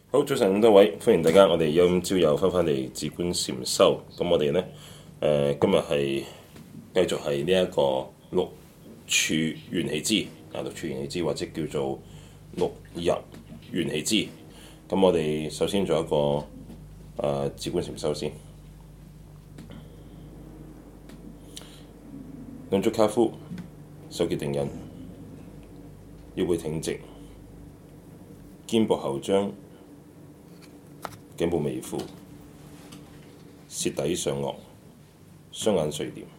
好，早晨咁多位，歡迎大家。我哋今朝又翻返嚟自觀禪修。咁我哋呢，今日係繼續係呢一個六處緣起支六處緣起支或者叫做六入緣起支。咁我哋首先做一個自觀禪修先。兩足跏趺，手結定印，腰背挺直，肩部後張。頸部微俯，舌抵上顎，雙眼垂簾，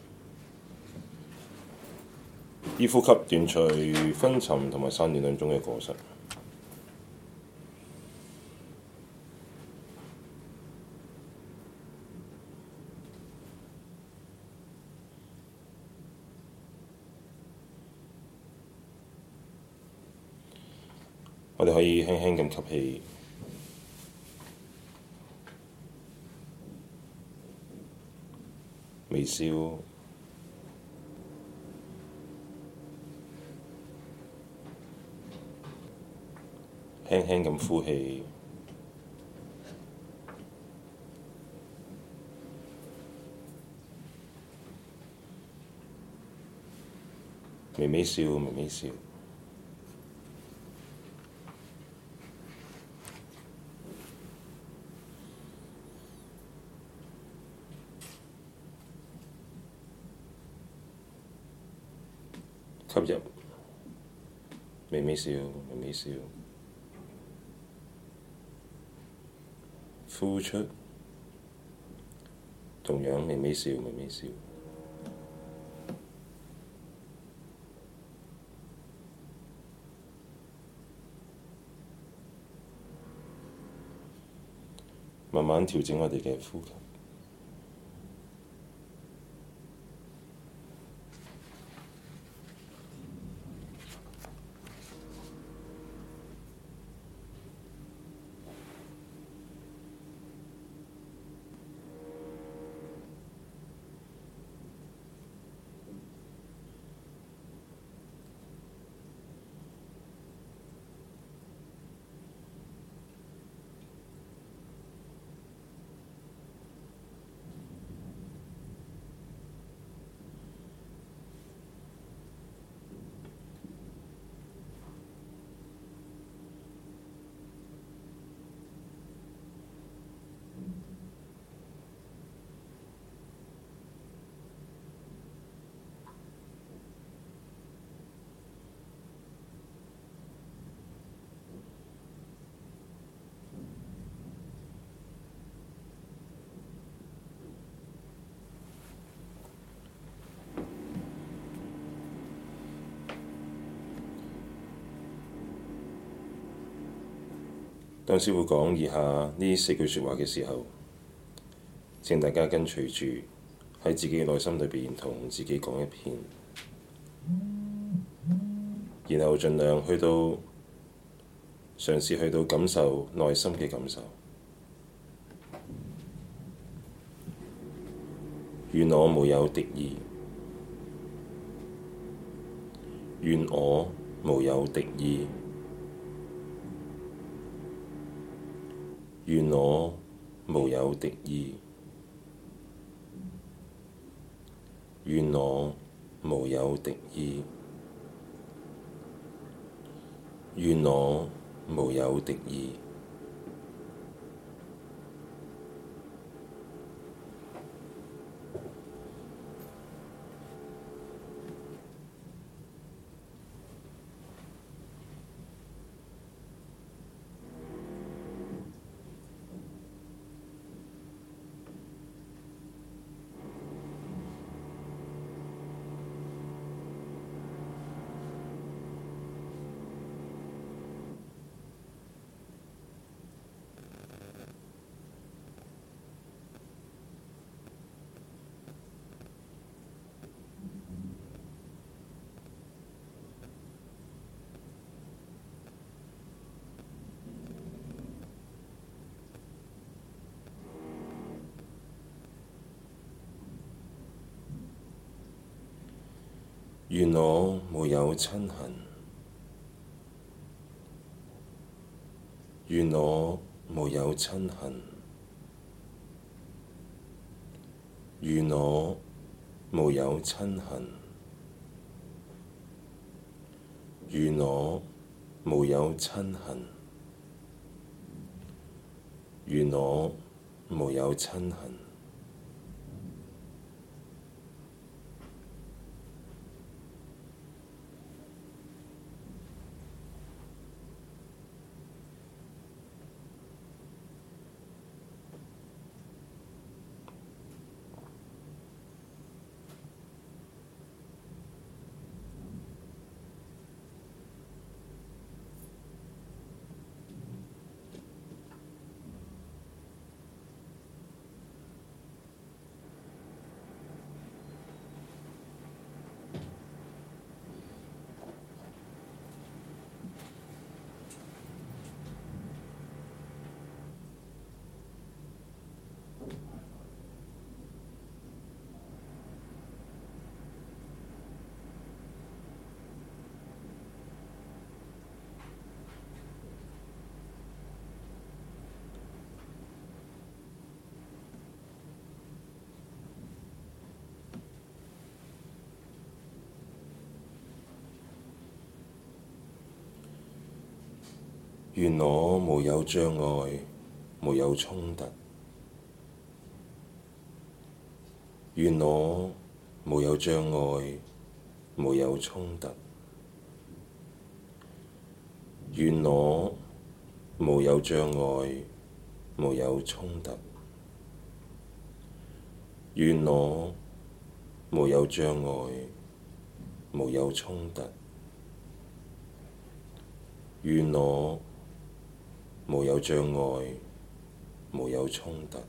依呼吸斷除昏沉同埋散亂兩種嘅過失。我哋可以輕輕咁吸氣。微笑，輕輕咁呼氣，微微笑，微微笑。吸入，微微笑，微微笑；呼出，同樣微微笑，微微笑。慢慢調整我哋嘅呼吸。當師父講以下呢四句説話嘅時候，請大家跟隨住喺自己嘅內心裏邊同自己講一遍，然後盡量嘗試去到感受內心嘅感受。願我無有敵意，願我無有敵意。願我無有敵意，願我無有敵意，願我無有敵意。願我無有瞋恨，願我無有瞋恨，願我無有瞋恨，願我無有瞋恨，願我無有瞋恨。願我無有障礙，無有衝突。願我無有障礙，無有衝突。願我無有障礙，無有衝突。願我無有障礙，無有衝突。願我無有障礙，無有衝突。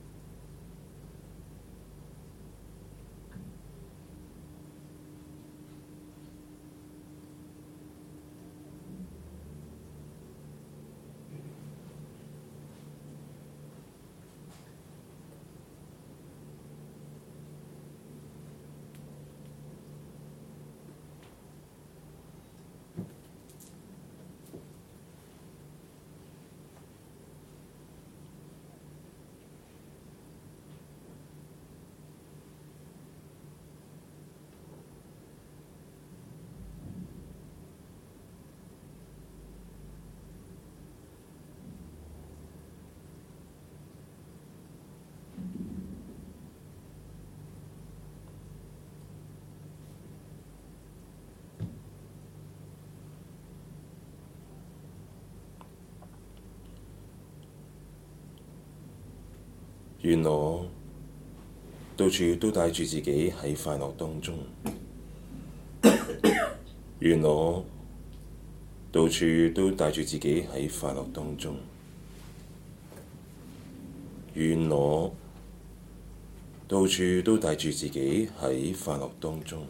願我到處都帶住自己喺快樂當中。願我到處都帶住自己喺快樂當中。願我到處都帶住自己喺快樂當中。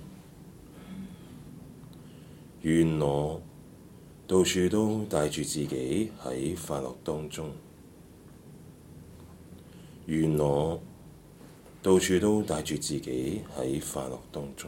願我到處都帶住自己喺快樂當中。願我到處都帶住自己喺快樂當中。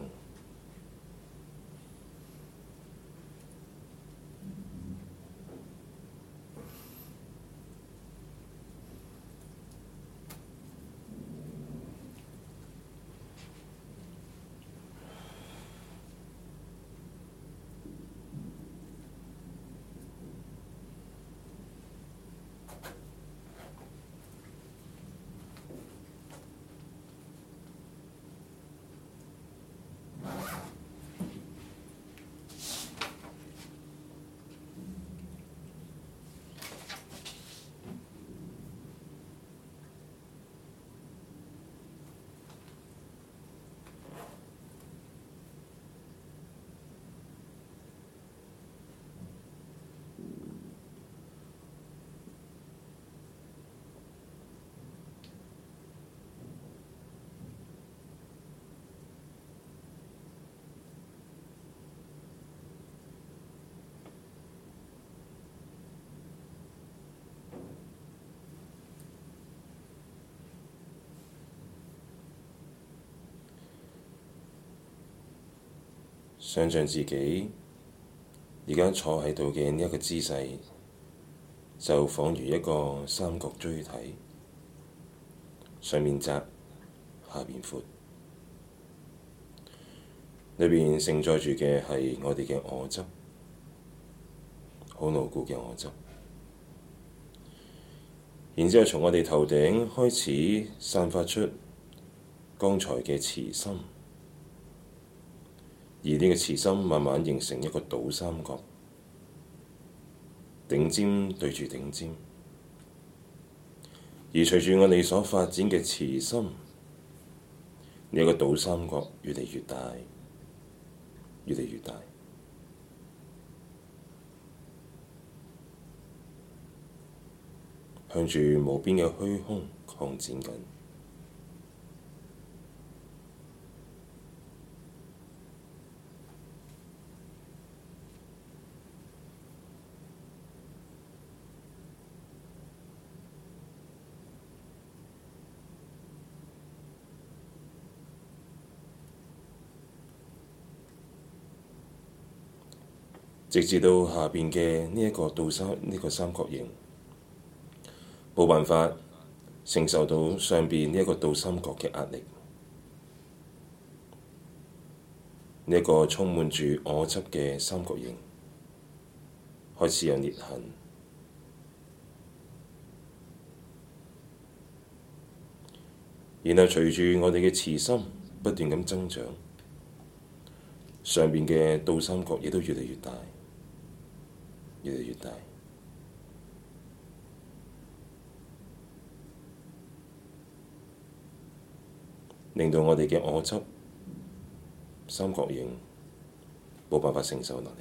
想像自己而家坐喺度嘅呢一個姿勢， 就仿如一個三角錐體，上面窄，下邊闊，裏邊承載住嘅係我哋嘅我執，好牢固嘅我執。然之後從我哋頭頂開始散發出剛才嘅慈心，而呢個慈心慢慢形成一個倒三角，頂尖對住頂尖。而隨住我哋所發展嘅慈心，呢個倒三角越嚟越大，越嚟越大，向住無邊嘅虛空擴展緊。直至到下邊嘅呢一個三角形冇辦法承受到上邊呢一個倒三角嘅壓力，呢一個充滿住我執嘅三角形開始有裂痕，然後隨住我哋嘅慈心不斷咁增長，上邊嘅倒三角亦都越嚟越大，越嚟越大，令到我哋嘅我執三角形冇辦法承受落嚟，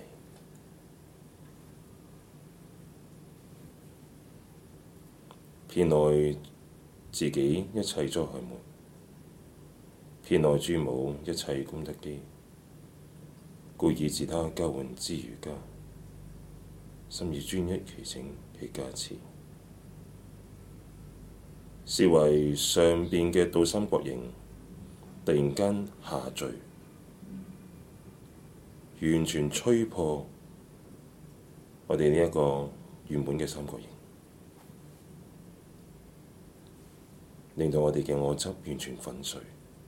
遍內自己一切災害門，遍內諸母一切功德基，故以自他交換之瑜伽，心以專一祈請其加持。是為上邊嘅倒三角形突然間下墜，完全吹破我哋呢一個原本嘅三角形，令到我哋嘅我執完全粉碎。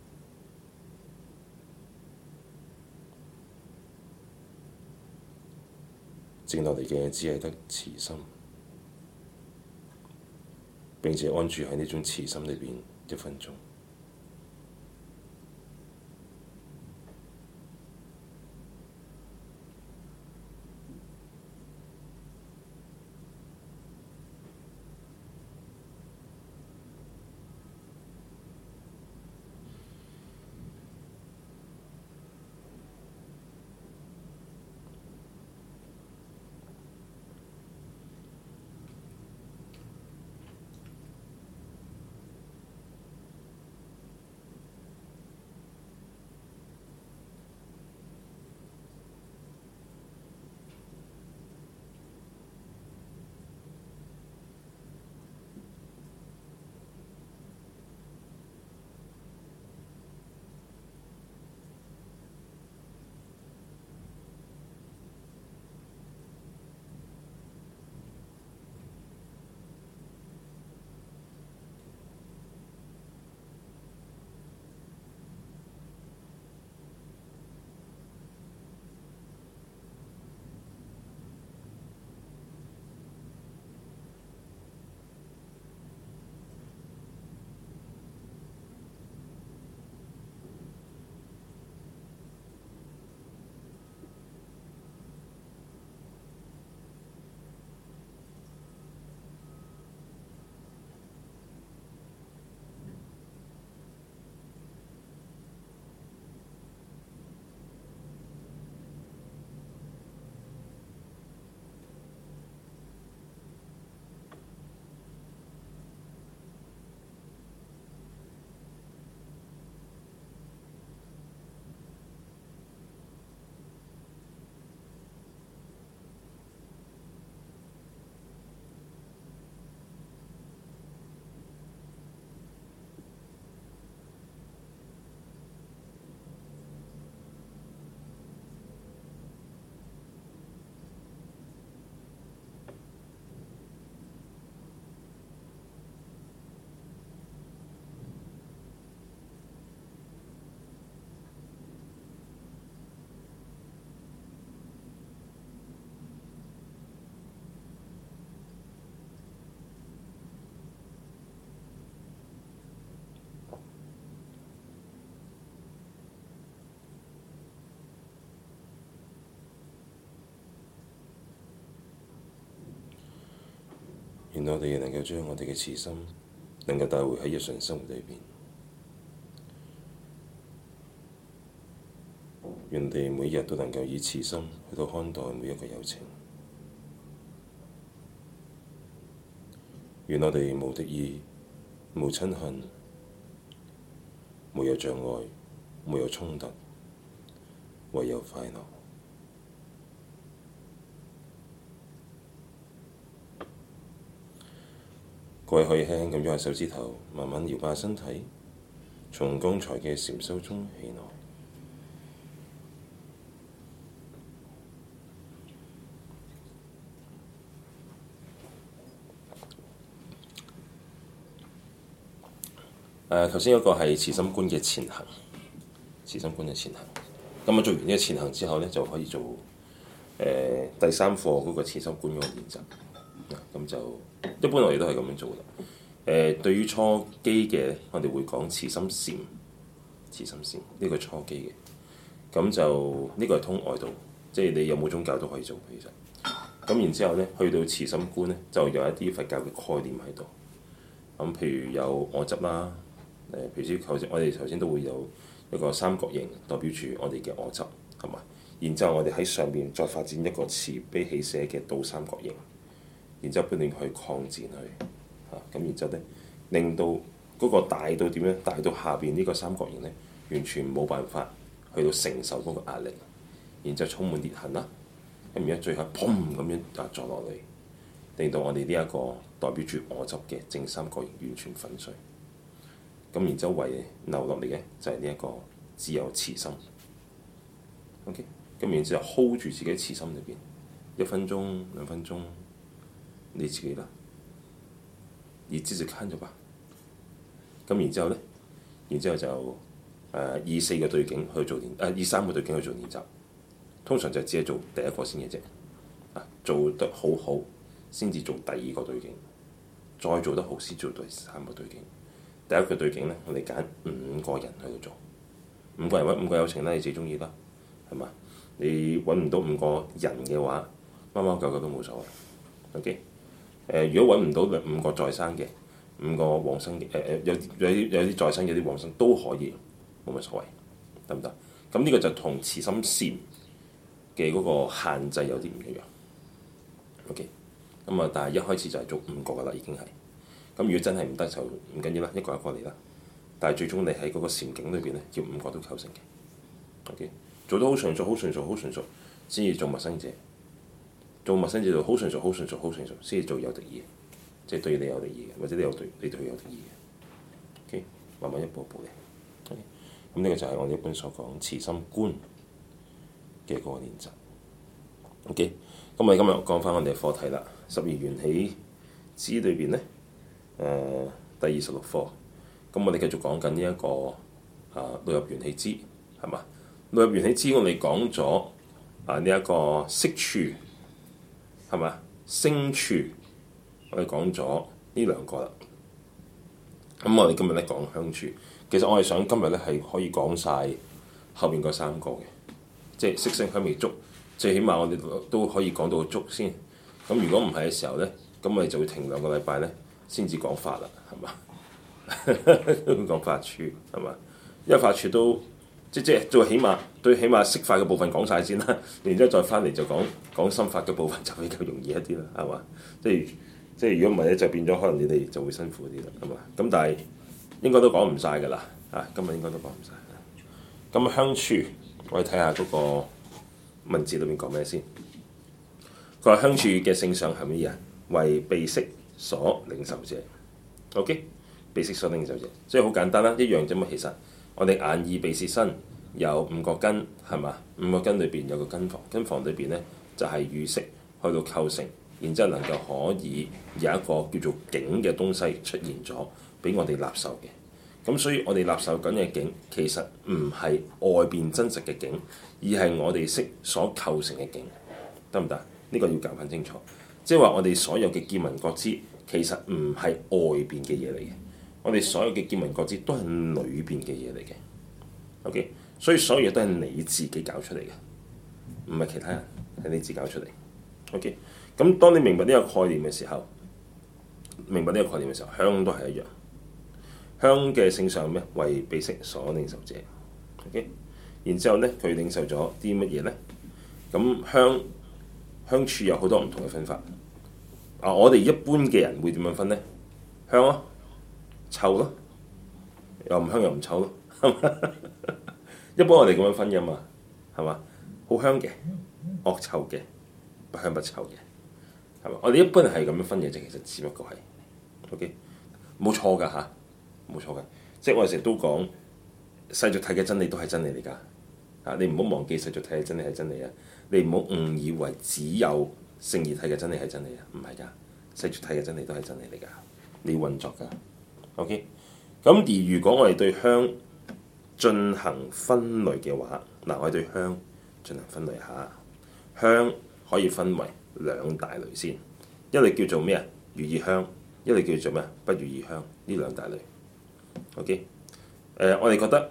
剩落嚟嘅只係得慈心，並且安住喺呢種慈心裏邊1分鐘。 願我哋能夠將我哋嘅慈心能夠帶回喺日常生活裏邊，願我哋每日都能夠以慈心去到看待每一個有情，願我哋無敵意、無親恨、沒有障礙、沒有衝突，唯有快樂。各位可以輕輕咁喐下手指頭，慢慢搖擺身體，從剛才嘅禪修中起來。頭先嗰個係慈心觀嘅前行，慈心觀嘅前行。咁做完呢個前行之後呢，就可以做第三課嗰個慈心觀嗰個練習。咁就一般我哋都係咁樣做嘅。對於初機嘅，我哋會講慈心禪，慈心禪呢個初機嘅。咁就呢個係通外道，即係你有冇宗教都可以做其實。咁然之後呢，去到慈心觀呢，就有一啲佛教嘅概念喺度。咁譬如有我執啦。譬如我哋頭先都會有一個三角形，代表住我哋嘅我執，係嘛？然之後我哋喺上面再發展一個慈悲喜捨嘅倒三角形，然之後不斷去擴展佢，咁然之後咧，令到嗰個大到點樣？大到下邊呢個三角形咧，完全冇辦法去到承受嗰個壓力，然之後充滿裂痕啦，咁然之後最後砰咁樣撞落嚟，令到我哋呢一個代表住我執嘅正三角形完全粉碎。咁然之後遺留落嚟嘅就係呢一個只有慈心。OK， 咁然之後 hold 住自己慈心裏邊1分鐘、2分鐘，你自己啦，你自己看着吧。咁然之後咧，然之後就以4個對境去做以3個對境去做練習。通常就只係做第一個先嘅啫，做得好好先至做第2個對境，再做得好先做第3個對境。第一個對境咧，我哋揀5個人去度做，5個人揾5個有情啦，你自己中意啦，係嘛？你揾唔到5個人嘅話，貓貓狗狗都冇所謂。OK，如果揾唔到5個在生嘅，5個往生嘅，有啲在生有啲往生都可以，冇乜所謂，得唔得？咁呢個就同慈心禪嘅嗰個限制有啲唔一樣。OK，咁啊，但係一開始就係做5個噶啦，已經係。咁如果真係唔得就唔緊要啦，一個一個嚟啦。但係最終你喺嗰個禪境裏邊咧，要5個都構成嘅。OK，做得好純熟、好純熟、好純熟，先至做陌生者。做陌生者做好純熟、好純熟、好純熟，先至做有敵意，即係對你有敵意嘅，或者你對佢有敵意嘅。OK，慢慢一步一步嚟。OK，咁呢個就係我哋一般所講慈心觀嘅嗰個練習。OK，咁我哋今日講翻我哋嘅課題啦。12緣起支裏邊咧。第26課，咁我哋繼續講緊呢一個六入緣起支，係嘛？六入緣起支我哋講咗呢一個色處，係嘛？聲處，我哋講咗呢2個啦。咁我哋今日咧講香處，其實我係想今日咧係可以講晒後面嗰3個嘅，即係色聲香味觸，最起碼我哋都可以講到觸先。咁如果唔係嘅時候咧，咁我哋就會停2個禮拜咧。先至講法啦，係嘛？講法處係嘛？因為法處都即最起碼色法嘅部分講晒先啦，然之後再翻嚟就講心法嘅部分就比較容易一啲啦，係嘛？即係如果唔係咧，就變咗可能你哋就會辛苦啲啦，係嘛？咁但係應該都講唔晒㗎啦，今日應該都講唔晒。咁香處，我哋睇下嗰個文字裏面講咩先。佢話香處嘅性相係乜嘢？為鼻識所領受者。OK， 鼻識所領受者，所以好簡單啦，一樣啫嘛。其實我哋眼耳鼻舌身有5個根，係嘛？5個根裏邊有個根房，根房裏邊咧就係與識去到構成，然之後能夠可以有一個叫做境嘅東西出現咗，俾我哋納受嘅。咁所以我哋納受緊嘅境，其實唔係外邊真實嘅境，而係我哋識所構成嘅境，得唔得？呢個要搞翻清楚。即係話我哋所有嘅見聞覺知，其實唔係外邊嘅嘢嚟嘅，我哋所有嘅見聞覺知都係裏邊嘅嘢嚟嘅。OK， 所以所有嘢都係你自己搞出嚟嘅，唔係其他人，係你自己搞出嚟。OK， 咁當你明白呢個概念嘅時候， 明白呢個概念嘅時候，香都係一樣。香嘅性相咩？為彼識所領受者。OK，然之後咧，佢領受咗啲乜嘢咧？咁香處有好多唔同嘅分法。我哋一般嘅人會點樣分咧？香咯，臭咯，又唔香又唔臭咯，係嘛？一般我哋咁樣分㗎嘛，係嘛？好香嘅，惡臭嘅，不香不臭嘅，係嘛？我哋一般係咁樣分嘅啫，其實只不過係 OK，冇錯㗎嚇，冇錯㗎。即係我哋成日都講世俗諦嘅真理都係真理嚟㗎。你唔好忘記世俗諦嘅真理係真理啊！你唔好誤以為只有聖義諦嘅真理係真理啊！唔係㗎，世俗諦嘅真理都係真理嚟㗎。你要運作㗎。OK，咁而如果我哋對香進行分類嘅話，我哋對香進行分類下，香可以分為兩大類先，一類叫做咩啊？如意香，一類叫做咩啊？不如意香，呢兩大類。OK，我哋覺得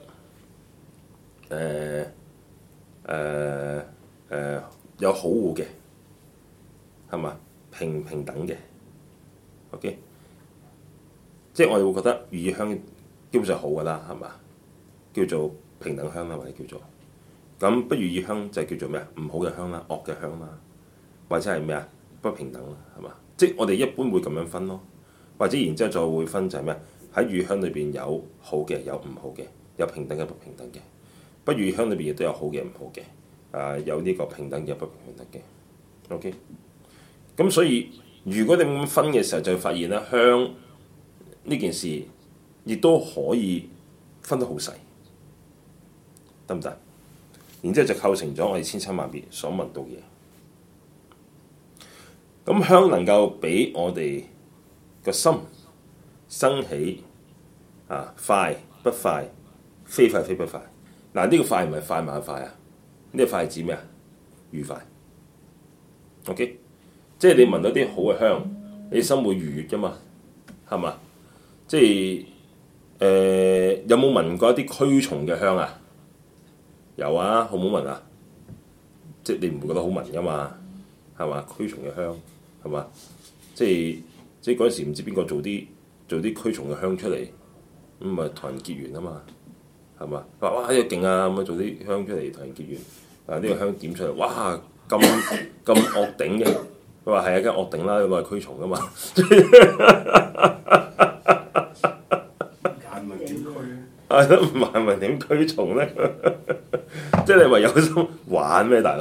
有好惡嘅，係嘛？平等嘅。OK，即係我哋會覺得如意香基本上好㗎啦，係嘛？叫做平等香啦，或者叫做咁不如意香就係叫做咩啊？唔好嘅香啦，惡嘅香啦，或者係咩啊？不平等啦，係嘛？即係我哋一般會咁樣分咯，或者然之後再會分就係咩啊？喺如意香裏邊有好嘅，有唔好嘅，有平等嘅，不平等嘅。不如意香裏邊亦都有好嘅，唔好嘅，有呢個平等嘅，不平等嘅。OK，咁所以如果你咁分嘅時候，就會發現咧，香呢件事亦都可以分得好細，得唔得？然之後就構成咗我哋千差萬別所聞到嘅嘢。咁香能夠俾我哋個心生起快不快，非快非不快。呢個快唔係快慢嘅快啊，呢個快係指咩啊？愉快。OK，即係你聞到啲好嘅香，你心會愉悅㗎嘛，係嘛？即係有冇聞過一啲驅蟲嘅香啊？有啊，好唔好聞啊？即係你唔會覺得好聞㗎嘛，係嘛？驅蟲嘅香係嘛？即係嗰陣時唔知邊個做啲驅蟲嘅香出嚟，咁咪同人結緣啊嘛，係嘛？話哇呢個勁啊，咁啊做啲香出嚟同人結緣，呢個香點出嚟，哇咁惡頂嘅，佢話係一間惡頂啦，攞嚟驅蟲㗎嘛。係咯，萬民點驅蟲咧？即係你話有心玩咩，大佬？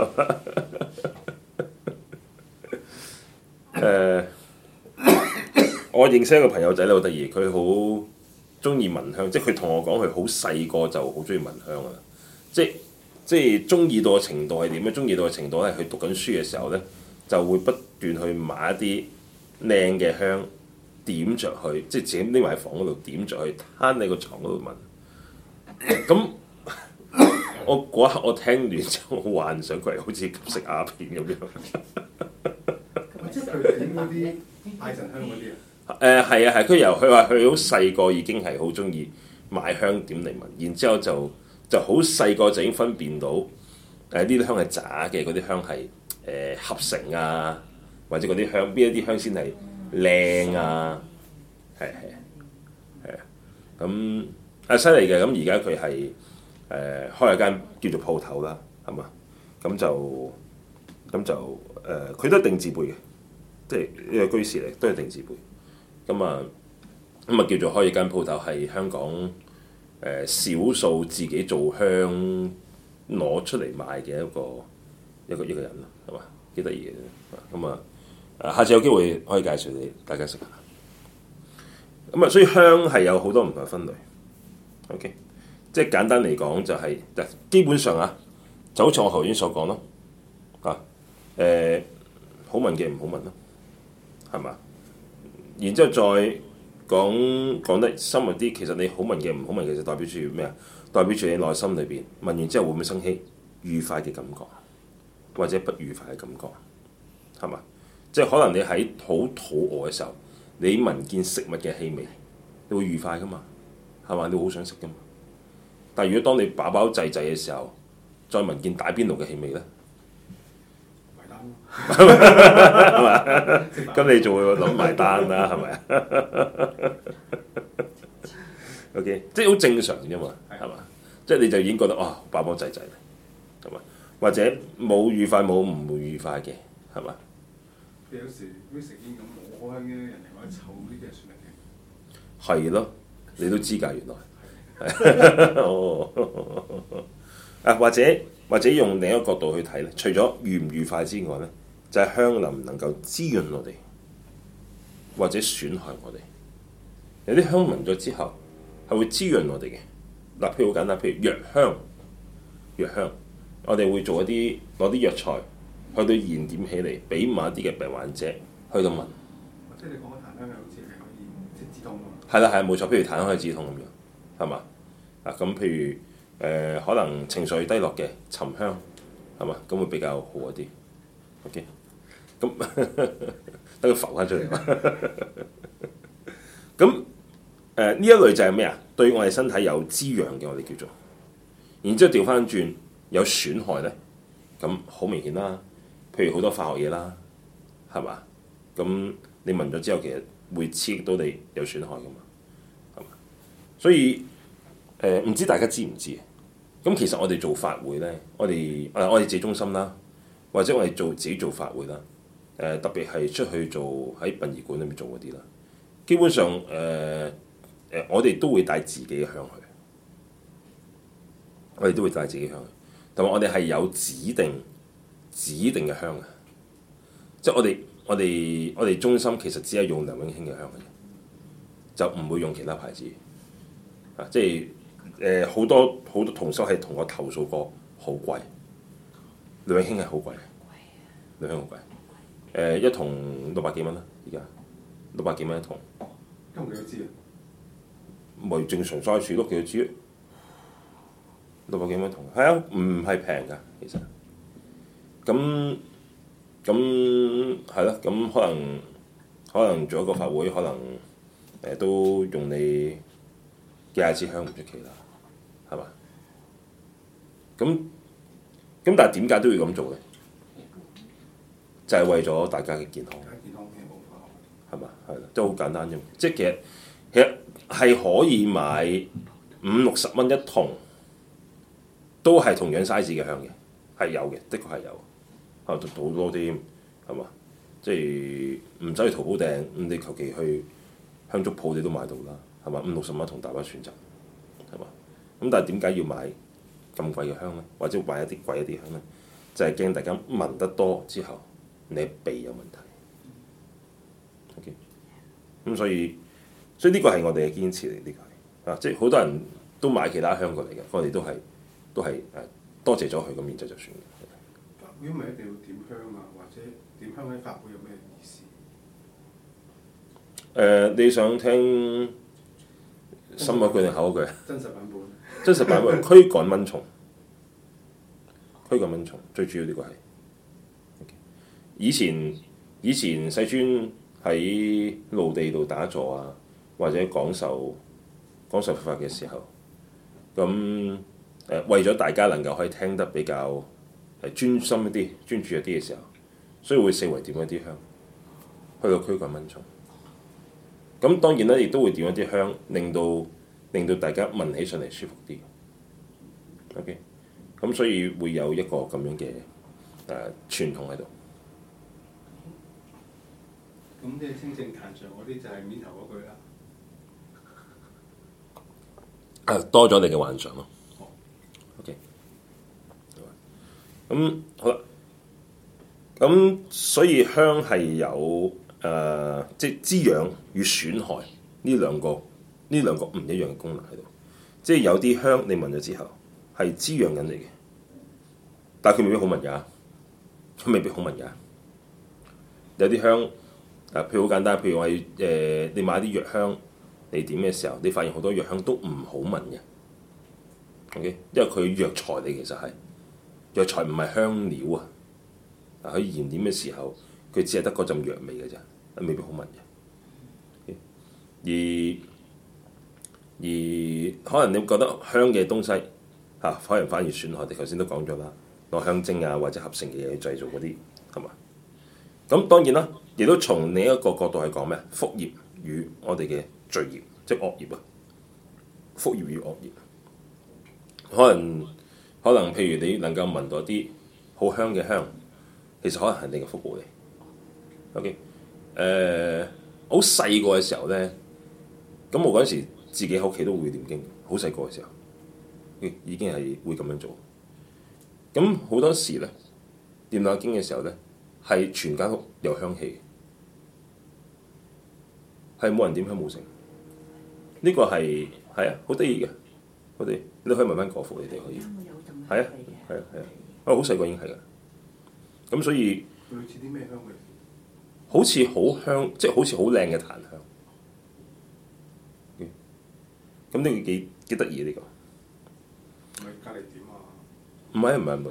我認識一個朋友仔咧，好得意，佢好中意聞香，即係佢同我講，佢好細個就好中意聞香啊！即係中意到嘅程度係點咧？中意到嘅程度係佢讀緊書嘅時候咧，就會不斷去買一啲靚嘅香。點着去，即係自己匿埋喺房嗰度點着去，攤喺個床嗰度聞。咁我嗰一刻我聽完之後，我幻想佢係好似吸食鴉片咁樣。 即係佢哋點嗰啲拜神香嗰啲啊？ 係啊係，佢話佢好細個已經係好中意買香點嚟聞，然之後就好細個就已經分辨到呢啲香係假嘅，嗰啲香係合成啊，或者嗰啲香邊一啲香先係靚啊，係啊，咁犀利嘅。咁而家佢係開一間叫做鋪頭啦，係嘛？咁就佢都係定字輩嘅，即係呢個居士嚟，都係定字輩。咁啊叫做開一間鋪頭，係香港少數自己做香攞出嚟賣嘅一個人咯，係嘛？幾得意嘅。咁下次有機會可以介紹你大家識下。咁所以香係有好多唔同嘅分類。OK，即係簡單嚟講就係、基本上就好似我頭先所講咯。好聞嘅唔好聞咯，係嘛？然之後再講得深入啲，其實你好聞嘅唔好聞，其實代表住咩啊？代表住你內心裏邊聞完之後會唔會生起愉快嘅感覺，或者不愉快嘅感覺，係嘛？即係可能你喺好肚餓嘅時候，你聞見食物嘅氣味，你會愉快噶嘛？係嘛？你會好想食噶嘛？但係如果當你飽飽滯滯嘅時候，再聞見打邊爐嘅氣味咧， 係嘛？咁你就會諗埋單啦，係咪啊？OK， 即係好正常啫嘛，係嘛？即係你就已經覺得哇，飽飽滯滯啦，係嘛？或者冇愉快冇唔會愉快嘅，係嘛？ 有時啲食煙咁冇香嘅人哋話臭呢啲係算係嘅。 係咯，你都知㗎原來。哦，啊或者用另一個角度去睇咧，除咗愉唔愉快之外咧，就係、香能唔能夠滋潤我哋，或者損害我哋。有啲香聞咗之後係會滋潤我哋嘅。嗱，譬如好簡單，譬如藥香，藥香，我哋會做一啲攞啲藥材去到燃點起嚟，俾某一啲嘅病患者去到聞。 即係你講嘅檀香係好似係可以即係止痛㗎嘛？ 係啦，係冇錯。譬如檀香可以止痛咁樣，係嘛？啊咁，譬如可能情緒低落嘅沉香，係嘛？咁會比較好一啲。OK，咁等佢浮翻出嚟嘛。咁呢一類就係咩啊？對我哋身體有滋養嘅，我哋叫做。然之後調翻轉有損害咧，咁好明顯啦。譬如好多化學嘢啦，係嘛？咁你聞咗之後，其實會刺激到你有損害噶嘛，係嘛？所以唔知大家知唔知？咁其實我哋做法會咧，我哋自己中心啦，或者我哋自己做法會啦，特別係出去做喺殯儀館裏面做嗰啲啦，基本上我哋都會帶自己嘅香去，我哋都會帶自己香去，同埋我哋係有指定嘅香嘅，即係我哋中心其實只係用梁永興嘅香嘅啫，就唔會用其他牌子啊，即係好多同修係同我投訴過，好貴，梁永興係好貴，梁永興好貴，一桶600幾蚊啦，而家600幾蚊一桶， 咁幾多支啊？ 咪正常 size 咯，幾多支？600幾蚊一桶，係啊，唔係平㗎，其實。咁係咯，咁可能做一個法會，可能都用你幾廿支香唔出奇啦，係嘛？咁但係點解都要咁做咧？就係為咗大家嘅健康， 健康嘅冇化學， 係嘛？係啦，都好簡單啫。即係其實係可以買50-60蚊一桶，都係同樣 size 嘅香嘅，係有嘅，的確係有。啊，好多添，係嘛？即係唔使去淘寶訂，咁你求其去香燭鋪你都買到啦，係嘛？50-60蚊同大把選擇，係嘛？咁但係點解要買咁貴嘅香咧？或者買一啲貴一啲香咧？就係驚大家聞得多之後，你鼻有問題。OK，咁所以呢個係我哋嘅堅持嚟，呢個係啊，即係好多人都買其他香過嚟嘅，我哋都係多謝咗佢咁，然之後就算。 如果唔係一定要點香啊，或者點香喺法會有咩意思？ 你想聽深嗰句定後嗰句？ 真實版本。 真實版本驅趕蚊蟲，最主要呢個係。以前世尊喺露地度打坐啊，或者講授佛法嘅時候，咁為咗大家能夠可以聽得比較專心一啲、專注一啲嘅時候，所以會四圍點一啲香，去到驅趕蚊蟲。咁當然啦，亦都會點一啲香，令到大家聞起上嚟舒服啲。OK，咁所以會有一個咁樣嘅傳統喺度。 咁即係清淨壇上嗰啲就係面頭嗰句啦。 多咗你嘅幻想咯。OK。咁好啦，咁所以香係有即係滋養與損害呢兩個唔一樣嘅功能喺度。即係有啲香你聞咗之後係滋養緊你嘅，但係佢未必好聞㗎，有啲香譬如好簡單，譬如話你買啲藥香你點嘅時候，你發現好多藥香都唔好聞嘅。OK， 因為佢藥材嚟，其實係。藥材唔係香料啊！佢燃點嘅時候，佢只係得嗰陣藥味嘅啫，未必好聞嘅。而可能你覺得香嘅東西可能反而損害。你頭先都講咗啦，攞香精啊或者合成嘅嘢去製造嗰啲係嘛？ 咁當然啦，亦都從另一個角度去講咩？福業與我哋嘅罪業，即係惡業啊！福業與惡業，可能譬如你能夠聞到啲好香嘅香，其實可能係你嘅福報嚟。OK，好細個嘅時候咧，咁我嗰陣時自己喺屋企都會念經，好細個嘅時候，已經係會咁樣做。咁好多時咧，念下經嘅時候咧，係全間屋有香氣，係冇人點香冇成。呢個係啊，好得意嘅，好得意。你可以問翻國父，你哋可以。係啊，好細個已經係㗎。咁所以類似啲咩香味？ 好似好香，即係好似好靚嘅檀香。咁呢個幾得意呢個？ 唔係隔離點啊？ 唔係，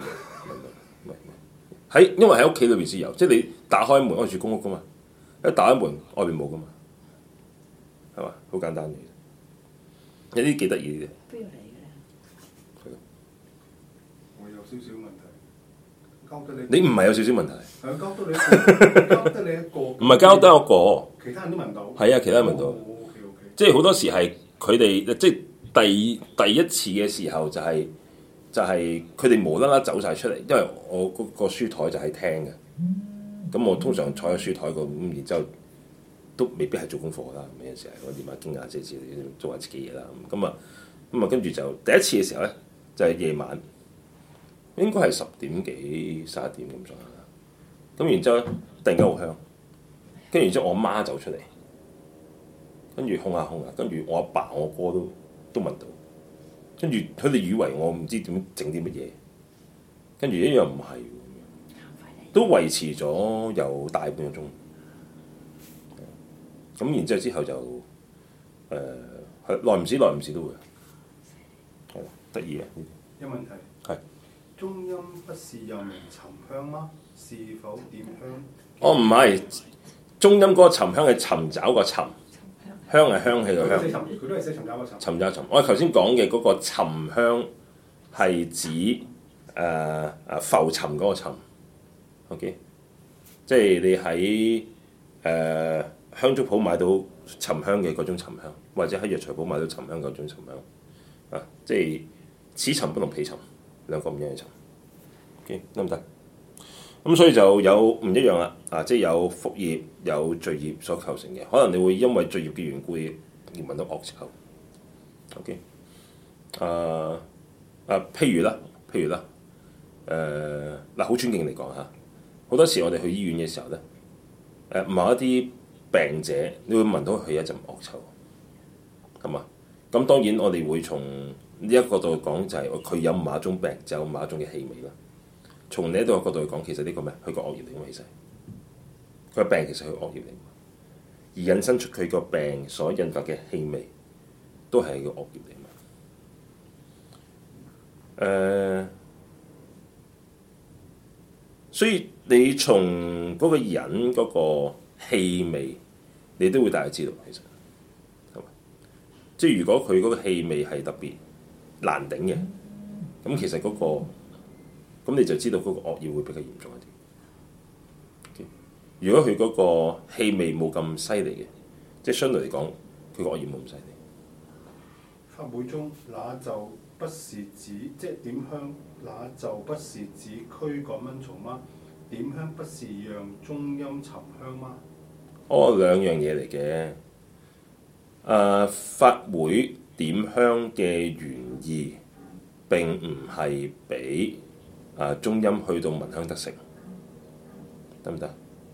喺因為喺屋企裏邊先有，即係你打開門，我住公屋噶嘛，一打開門外邊冇噶嘛，係嘛？好簡單嘅，有啲幾得意嘅。 邊度嚟嘅？ 我有少少問題，交得你。 你唔係有少少問題？ 係交得你一個，交得你一個。 唔係交得我個。 其他人都聞到。 係啊，其他人聞到。 OK。 即係好多時係佢哋即係第一次嘅時候就係佢哋無啦啦走晒出嚟，因為我嗰個書台就係廳嘅。咁我通常坐喺書台度，咁然之後都未必係做功課啦。有陣時係我念下經啊，即係做下自己嘢啦。咁啊跟住就第一次嘅時候咧，就係夜晚，應該係10點幾11點咁上下啦。咁然之後咧，突然間好香，跟住然之後我媽走出嚟，跟住烘下，跟住我阿爸我哥都聞到，跟住佢哋以為我唔知點整啲乜嘢，跟住一樣唔係，都維持咗有大半個鐘。咁然之後就耐唔時都會，係得意嘅。 有問題。 係。 中陰不是又名沉香嗎？是否點香？ 哦，唔係，中陰嗰個沉香係尋找個尋，香係香氣個香。 佢都係寫尋找個尋。 尋找尋，我頭先講嘅嗰個沉香係指浮沉嗰個沉。OK， 即係你喺香燭鋪買到沉香嘅嗰種沉香，或者喺藥材鋪買到沉香嗰種沉香。即係此沉不同彼沉，兩個唔一樣嘅沉。OK， 得唔得？咁所以就有唔一樣啦。即係有福業有罪業所構成嘅，可能你會因為罪業嘅緣故而聞到惡臭。OK， 譬如啦，好尊敬嚟講嚇，好多時我哋去醫院嘅時候咧，某一啲病者，你會聞到佢一陣惡臭，係嘛？咁當然我哋會從呢一個角度講，就係佢有某一種病就有某一種嘅氣味啦。從另一個角度去講，其實呢個咩？佢個惡業嚟嘅，其實佢個病其實係佢惡業嚟，而引申出佢個病所引發嘅氣味，都係個惡業嚟嘛。所以你從嗰個人嗰個氣味，你都會大概知道其實係嘛？即係如果佢嗰個氣味係特別難頂嘅，咁其實嗰個咁你就知道嗰個惡業會比較嚴重一啲。如果佢嗰個氣味冇咁犀利嘅，即係相對嚟講，佢個惡業冇咁犀利。 法會中那就不是指即係點香，那就不是指驅趕蚊蟲嗎？點香不是讓中陰沉香嗎？ 兩樣嘢嚟嘅。法會點香嘅原意並唔係俾中陰去到聞香得成，得唔得？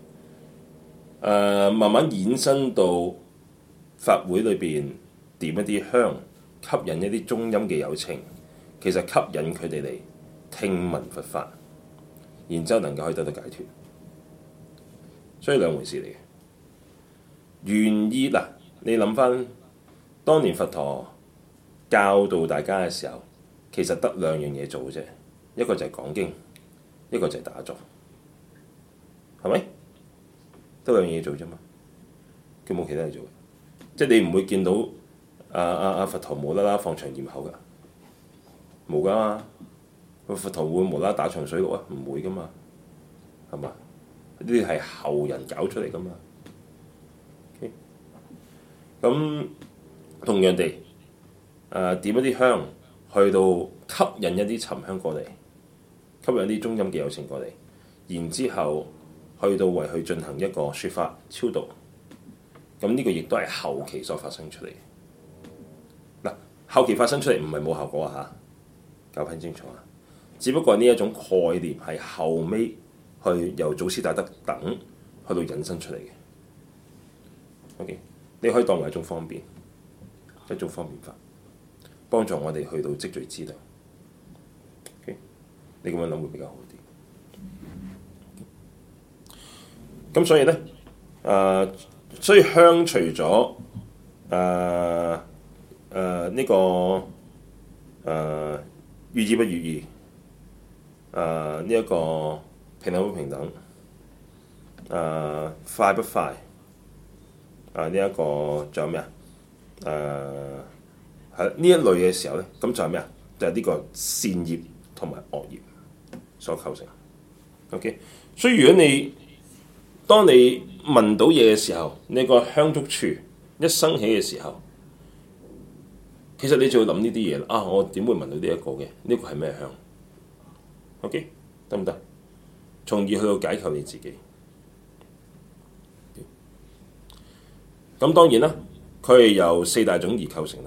慢慢衍生到法會裏邊點一啲香，吸引一啲中陰嘅有情，其實吸引佢哋嚟聽聞佛法，然之後能夠可以得到解脫，所以兩回事嚟嘅。原意嗱，你諗翻當年佛陀教導大家嘅時候，其實得兩樣嘢做嘅啫，一個就係講經，一個就係打坐，係咪？得兩樣嘢做啫嘛，佢冇其他嘢做嘅，即係你唔會見到佛陀無啦啦放長焰口㗎，冇㗎嘛。佛陀會無啦啦打長水陸啊？唔會㗎嘛，係嘛？ 呢啲係後人搞出嚟噶嘛。Okay? 咁同樣地，點一啲香去到吸引一啲沉香過嚟，吸引啲中陰嘅有情過嚟，然之後去到為佢進行一個説法超度。咁呢個亦都係後期所發生出嚟。嗱，後期發生出嚟唔係冇效果啊嚇，搞清清楚啊！只不過呢一種概念係後尾去由祖師大德等去到引申出嚟嘅。OK， 你可以當為一種方便，一種方便法，幫助我哋去到積聚資糧。OK， 你咁樣諗會比較好啲。咁所以咧，所以香除咗呢個寓意不寓意，呢一個平等不平等，快不快，呢一個仲有咩啊？係呢一類嘅時候咧，咁就係咩啊？就係呢個善業同埋惡業所構成。OK， 所以如果當你聞到嘢嘅時候，你個香觸處一生起嘅時候，其實你就會諗呢啲嘢啦。啊，我點會聞到呢一個嘅？呢個係咩香 ？OK， 得唔得？從而去到解構你自己。咁當然啦，佢係由四大種而構成啦，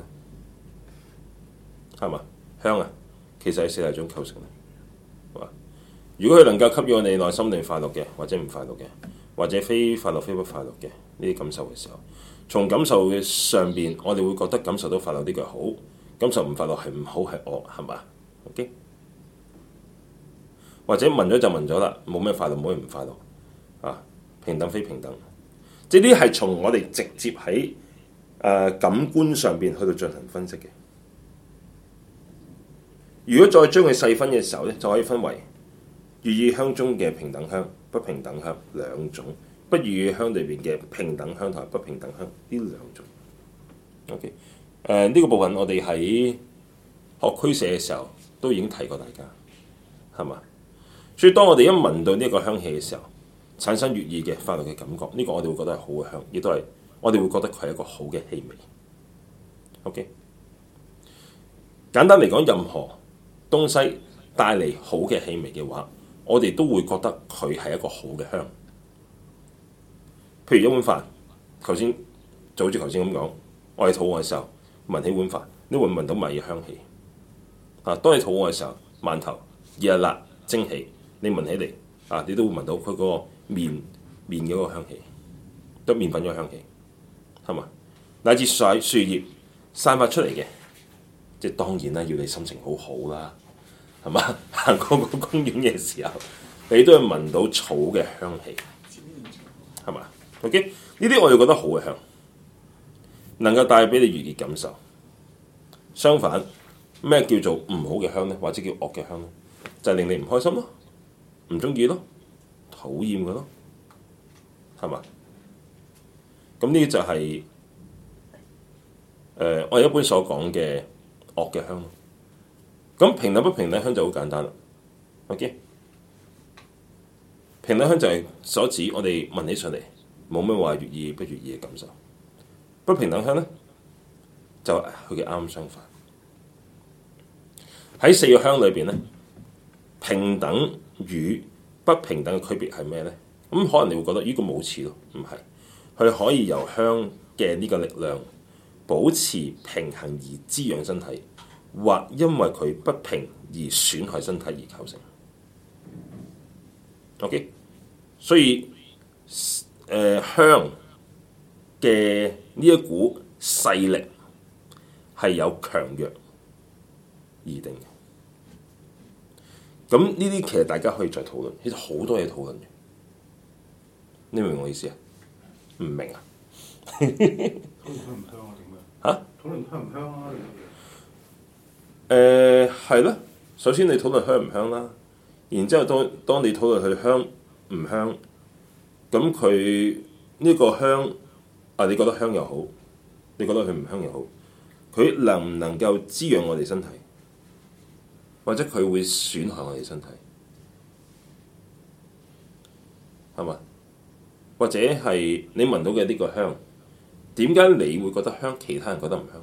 係嘛？香啊，其實係四大種構成啦。係嘛？如果佢能夠給予我哋內心靈快樂嘅，或者唔快樂嘅，或者非快樂非不快樂嘅呢啲感受嘅時候，從感受嘅上邊，我哋會覺得感受到快樂呢個係好，感受唔快樂係唔好係惡，係嘛 ？OK， 或者聞咗就聞咗啦，冇咩快樂，冇咩唔快樂啊，平等非平等，即係呢啲係從我哋直接喺感官上邊去到進行分析嘅。如果再將佢細分嘅時候咧，就可以分為寓意香中嘅平等香、不平等香兩種，不寓意香裏邊嘅平等香同埋不平等香呢兩種。OK， 呢個部分我哋喺學俱舍嘅時候都已經提過大家，係嘛？所以當我哋一聞到呢一個香氣嘅時候，產生悅意嘅快樂嘅感覺，呢個我哋會覺得係好嘅香，亦都係我哋會覺得佢係一個好嘅氣味。OK， 簡單嚟講，任何東西帶嚟好嘅氣味嘅話，我哋都會覺得佢係一個好嘅香。譬如一碗飯，就好似頭先咁講，我哋肚餓嘅時候聞起碗飯，你會聞到米嘅香氣。當你肚餓嘅時候，饅頭熱辣蒸起，你聞起嚟你都會聞到佢嗰個麵嗰個香氣，得麵粉嗰個香氣，係嘛？乃至樹葉散發出嚟嘅，即係當然啦，要你心情好好啦，係嘛？行過個公園嘅時候，你都會聞到草嘅香氣，係嘛 ？OK， 呢啲我哋覺得好嘅香，能夠帶俾你愉悅感受。相反，咩叫做唔好嘅香咧？或者叫惡嘅香咧？就係令你唔開心咯，唔中意咯，討厭嘅咯，係嘛？咁呢就係我哋一般所講嘅惡嘅香咯。咁平等不平等香就好簡單啦。OK， 平等香就係所指我哋聞起上嚟冇咩話悅意不悅意嘅感受。不平等香咧就係佢嘅啱相反。喺四個香裏邊咧，平等與不平等嘅區別係咩咧？咁可能你會覺得呢個冇似咯，唔係，佢可以由香嘅呢個力量保持平衡而滋養身體，或因為佢不平而損害身體而構成。OK， 所以香嘅呢一股勢力係有強弱而定嘅。咁呢啲其實大家可以再討論，其實好多嘢討論嘅。你明唔明我意思啊？唔明啊？ 討論香唔香啊？點樣？嚇？討論香唔香啊？ 係咯。首先你討論香唔香啦，然之後當你討論佢香唔香，咁佢呢個香你覺得香又好，你覺得佢唔香又好，佢能唔能夠滋養我哋身體？或者佢會損害我哋身體。 係嘛？或者係你聞到嘅呢個香，點解你會覺得香，其他人覺得唔香？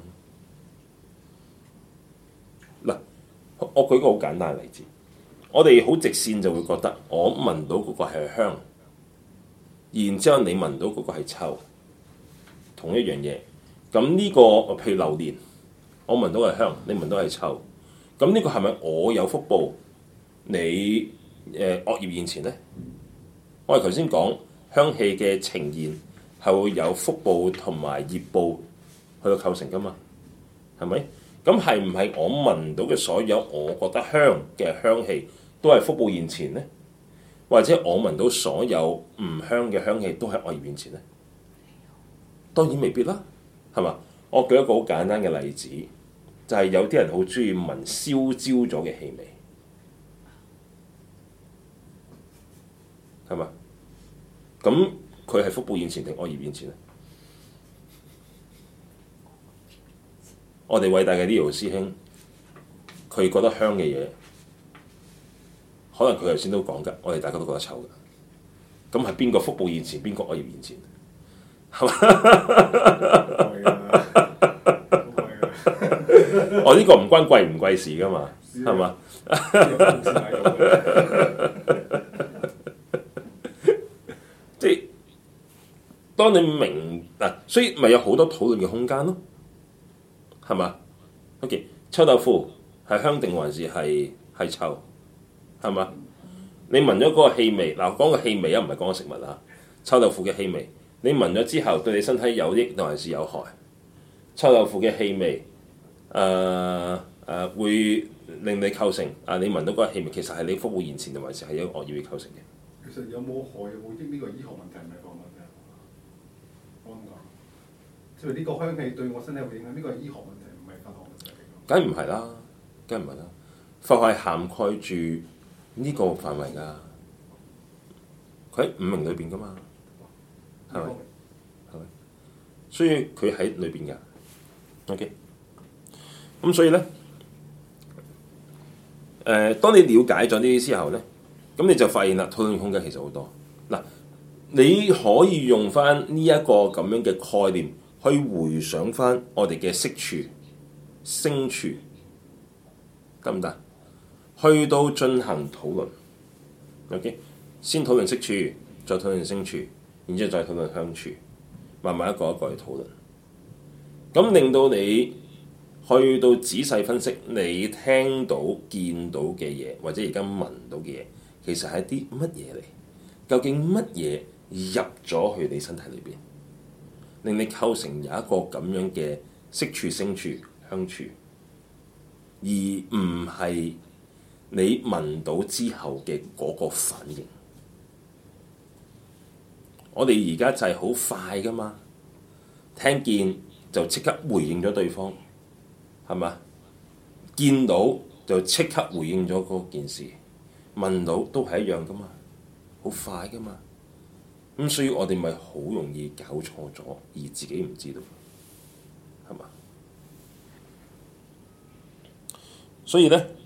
嗱，我舉個好簡單嘅例子，我哋好直線就會覺得我聞到嗰個係香，然之後你聞到嗰個係臭，同一樣嘢。咁呢個譬如榴蓮，我聞到係香，你聞到係臭，咁呢個係咪我有福報？你惡業現前咧？我哋頭先講香氣嘅呈現係會有福報同埋業報去到構成噶嘛？係咪？咁係唔係我聞到嘅所有我覺得香嘅香氣都係福報現前咧？或者我聞到所有唔香嘅香氣都係惡業現前咧？當然未必啦，係嘛？我舉一個好簡單嘅例子，就係有啲人好中意聞燒焦咗嘅氣味。係嘛？咁佢係福報現前定惡業現前咧？我哋偉大嘅呢條師兄，佢覺得香嘅嘢，可能佢頭先都講㗎，我哋大家都覺得臭㗎。咁係邊個福報現前，邊個惡業現前？係嘛？我呢個唔關貴唔貴事㗎嘛，係嘛？即係當你明嗱，所以咪有好多討論嘅空間咯，係嘛 ？OK， 臭豆腐係香定還是係臭？係嘛？你聞咗嗰個氣味，嗱講個氣味啊，唔係講個食物啊。臭豆腐嘅氣味，你聞咗之後對你身體有益定還是有害？臭豆腐嘅氣味，會令你構成你聞到嗰個氣味，其實係你福報現前定還是係一個惡業構成嘅？ 其實有冇害有冇益呢個醫學問題唔係個問題，我咁講，即係呢個香氣對我身體有冇影響？呢個係醫學問題，唔係法學問題。 梗唔係啦，梗唔係啦，法係涵蓋住呢個範圍㗎，佢喺五明裏邊㗎嘛，係咪？係咪？所以佢喺裏邊㗎。OK，咁所以咧，當你了解咗呢啲之後咧。咁你就發現啦，討論空間其實好多。嗱，你可以用翻呢一個咁樣嘅概念去回想翻我哋嘅色處、聲處，得唔得？去到進行討論。OK， 先討論色處，再討論聲處，然之後再討論香處，慢慢一個一個去討論。咁令到你去到仔細分析你聽到、見到嘅嘢，或者而家聞到嘅嘢。其實係啲乜嘢嚟？究竟乜嘢入咗去你身體裏邊，令你構成有一個咁樣嘅色處、聲處、香處，而唔係你聞到之後嘅嗰個反應。我哋而家就係好快㗎嘛，聽見就即刻回應咗對方，係嘛？見到就即刻回應咗嗰件事。聞到都係一樣噶嘛，好快噶嘛，咁所以我哋咪好容易搞錯咗，而自己唔知道，係嘛？所以咧，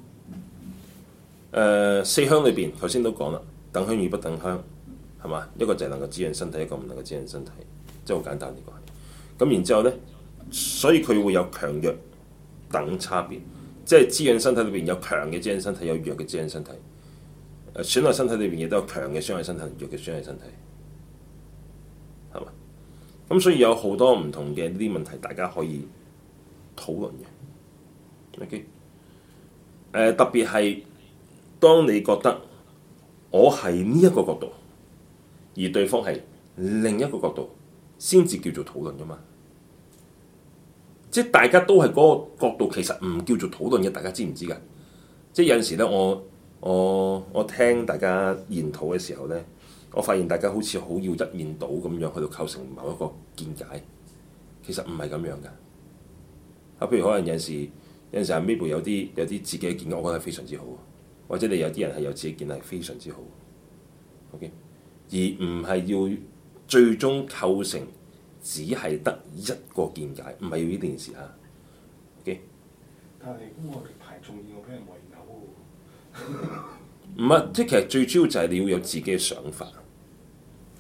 四香裏邊頭先都講啦，等香與不等香，係嘛？一個就係能夠滋養身體，一個唔能夠滋養身體，即係好簡單呢個係。咁然之後咧，所以佢會有強弱等差別。即係滋養身體裏邊有強嘅滋養身體，有弱嘅滋養身體。損害身體裏邊亦都有強嘅傷害身體，弱嘅傷害身體，係嘛？咁所以有好多唔同嘅呢啲問題，大家可以討論嘅。OK，特別係當你覺得我係呢一個角度，而對方係另一個角度，先至叫做討論㗎嘛。即係大家都係嗰個角度，其實唔叫做討論嘅，大家知唔知㗎？即係有陣時咧，我聽大家研討嘅時候咧，我發現大家好似好要一面倒咁樣去到構成某一個見解，其實唔係咁樣㗎。譬如可能有陣時阿 Mabel 有啲自己嘅見解，我覺得係非常之好，或者你有啲人係有自己見解係非常之好。OK， 而唔係要最終構成。只係得一個見解，唔係要呢件事嚇。OK， 但係咁我哋排眾議，我俾人圍毆喎。 唔係，即係其實最主要就係你要有自己嘅想法。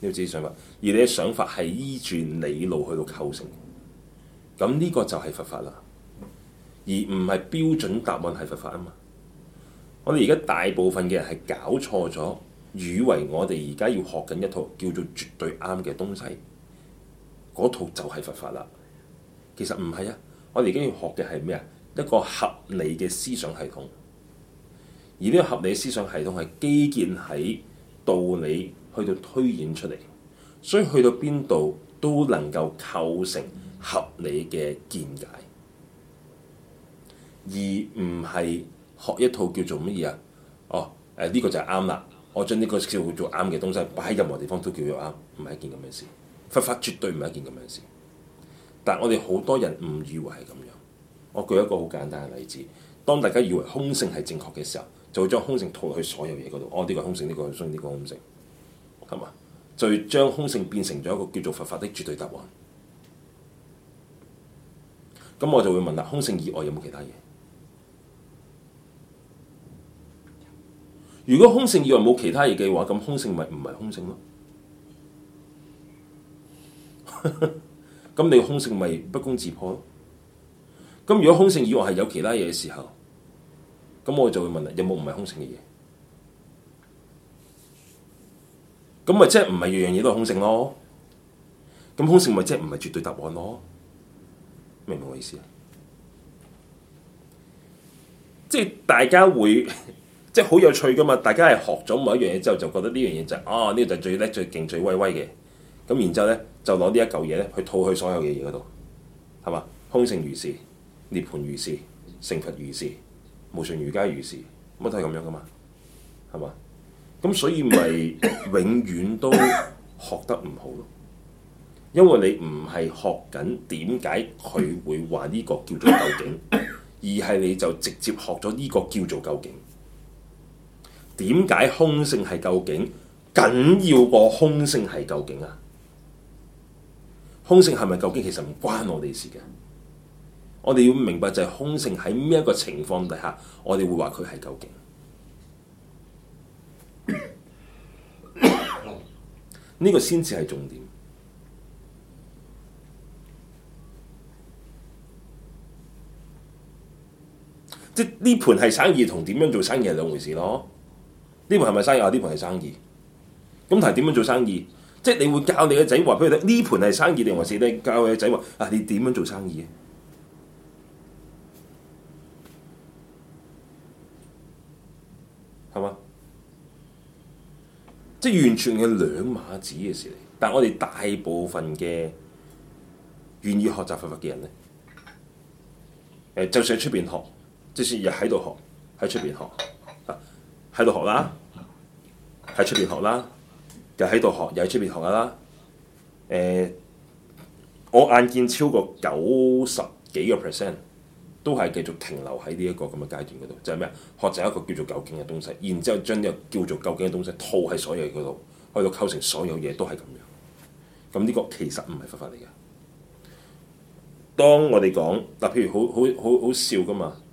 你有自己想法，而你嘅想法係依住理路去到構成，咁呢個就係佛法啦，而唔係標準答案係佛法啊嘛。我哋而家大部分嘅人係搞錯咗，以為我哋而家要學緊一套叫做絕對啱嘅東西，嗰套就係佛法啦。其實唔係啊，我哋而家要學嘅係咩啊？一個合理嘅思想系統，而呢個合理思想系統係基建喺道理去到推演出嚟，所以去到邊度都能夠構成合理嘅見解，而唔係學一套叫做乜嘢啊？哦，呢個就係啱啦，我將呢個叫做啱嘅東西擺喺任何地方都叫做啱，唔係一件咁嘅事。佛法絕對唔係一件咁樣嘅事，但係我哋好多人誤以為係咁樣。我舉一個好簡單嘅例子，當大家以為空性係正確嘅時候，就會將空性套落去所有嘢嗰度。哦，呢個空性，呢個空性，呢個空性，係嘛？就會將空性變成咗一個叫做佛法的絕對答案。咁我就會問啦，空性以外有冇其他嘢？如果空性以外冇其他嘢嘅話，咁空性咪唔係空性咯？咁你空性咪不攻自破咯？咁如果空性以外係有其他嘢嘅時候，咁我就會問啦，有冇唔係空性嘅嘢？咁咪即係唔係樣樣嘢都係空性咯？咁空性咪即係唔係絕對答案咯？明唔明我意思啊？即係大家會即係好有趣噶嘛？大家係學咗某一樣嘢之後，就覺得呢樣嘢就係呢個就係最叻、最勁、最威威嘅。咁然之後咧，就攞呢一嚿嘢咧去套去所有嘅嘢嗰度，係嘛？空性如是，涅槃如是，成佛如是，無上瑜伽如是，乜都係咁樣噶嘛？係嘛？咁所以咪永遠都學得唔好咯，因為你唔係學緊點解佢會話呢個叫做究竟，而係你就直接學咗呢個叫做究竟。點解空性係究竟緊要過空性係究竟啊？空性係咪究竟其實唔關我哋事嘅。我哋要明白就係空性喺咩一個情況底下，我哋會話佢係究竟。呢個先至係重點。即係呢盤係生意同點樣做生意係兩回事咯。呢盤係咪生意啊？呢盤係生意。咁但係點樣做生意？即係你會教你嘅仔話俾佢聽，呢盤係生意定還是你教你嘅仔話啊？你點樣做生意？係嘛？即係完全係兩碼子嘅事嚟。但係我哋大部分嘅願意學習佛法嘅人咧，就算喺出邊學，就算日喺度學，喺出邊學啊，喺度學啦，喺出邊學啦，又喺度學，又喺出邊學噶啦。我眼見超過90幾個%都係繼續停留喺呢一個咁嘅階段嗰度，就係咩啊？學習一個叫做究竟嘅東西，然之後將呢個叫做究竟嘅東西套喺所有嘢嗰度，去到構成所有嘢都係咁樣。咁呢個其實唔係佛法嚟嘅。當我哋講嗱，譬如好笑噶嘛。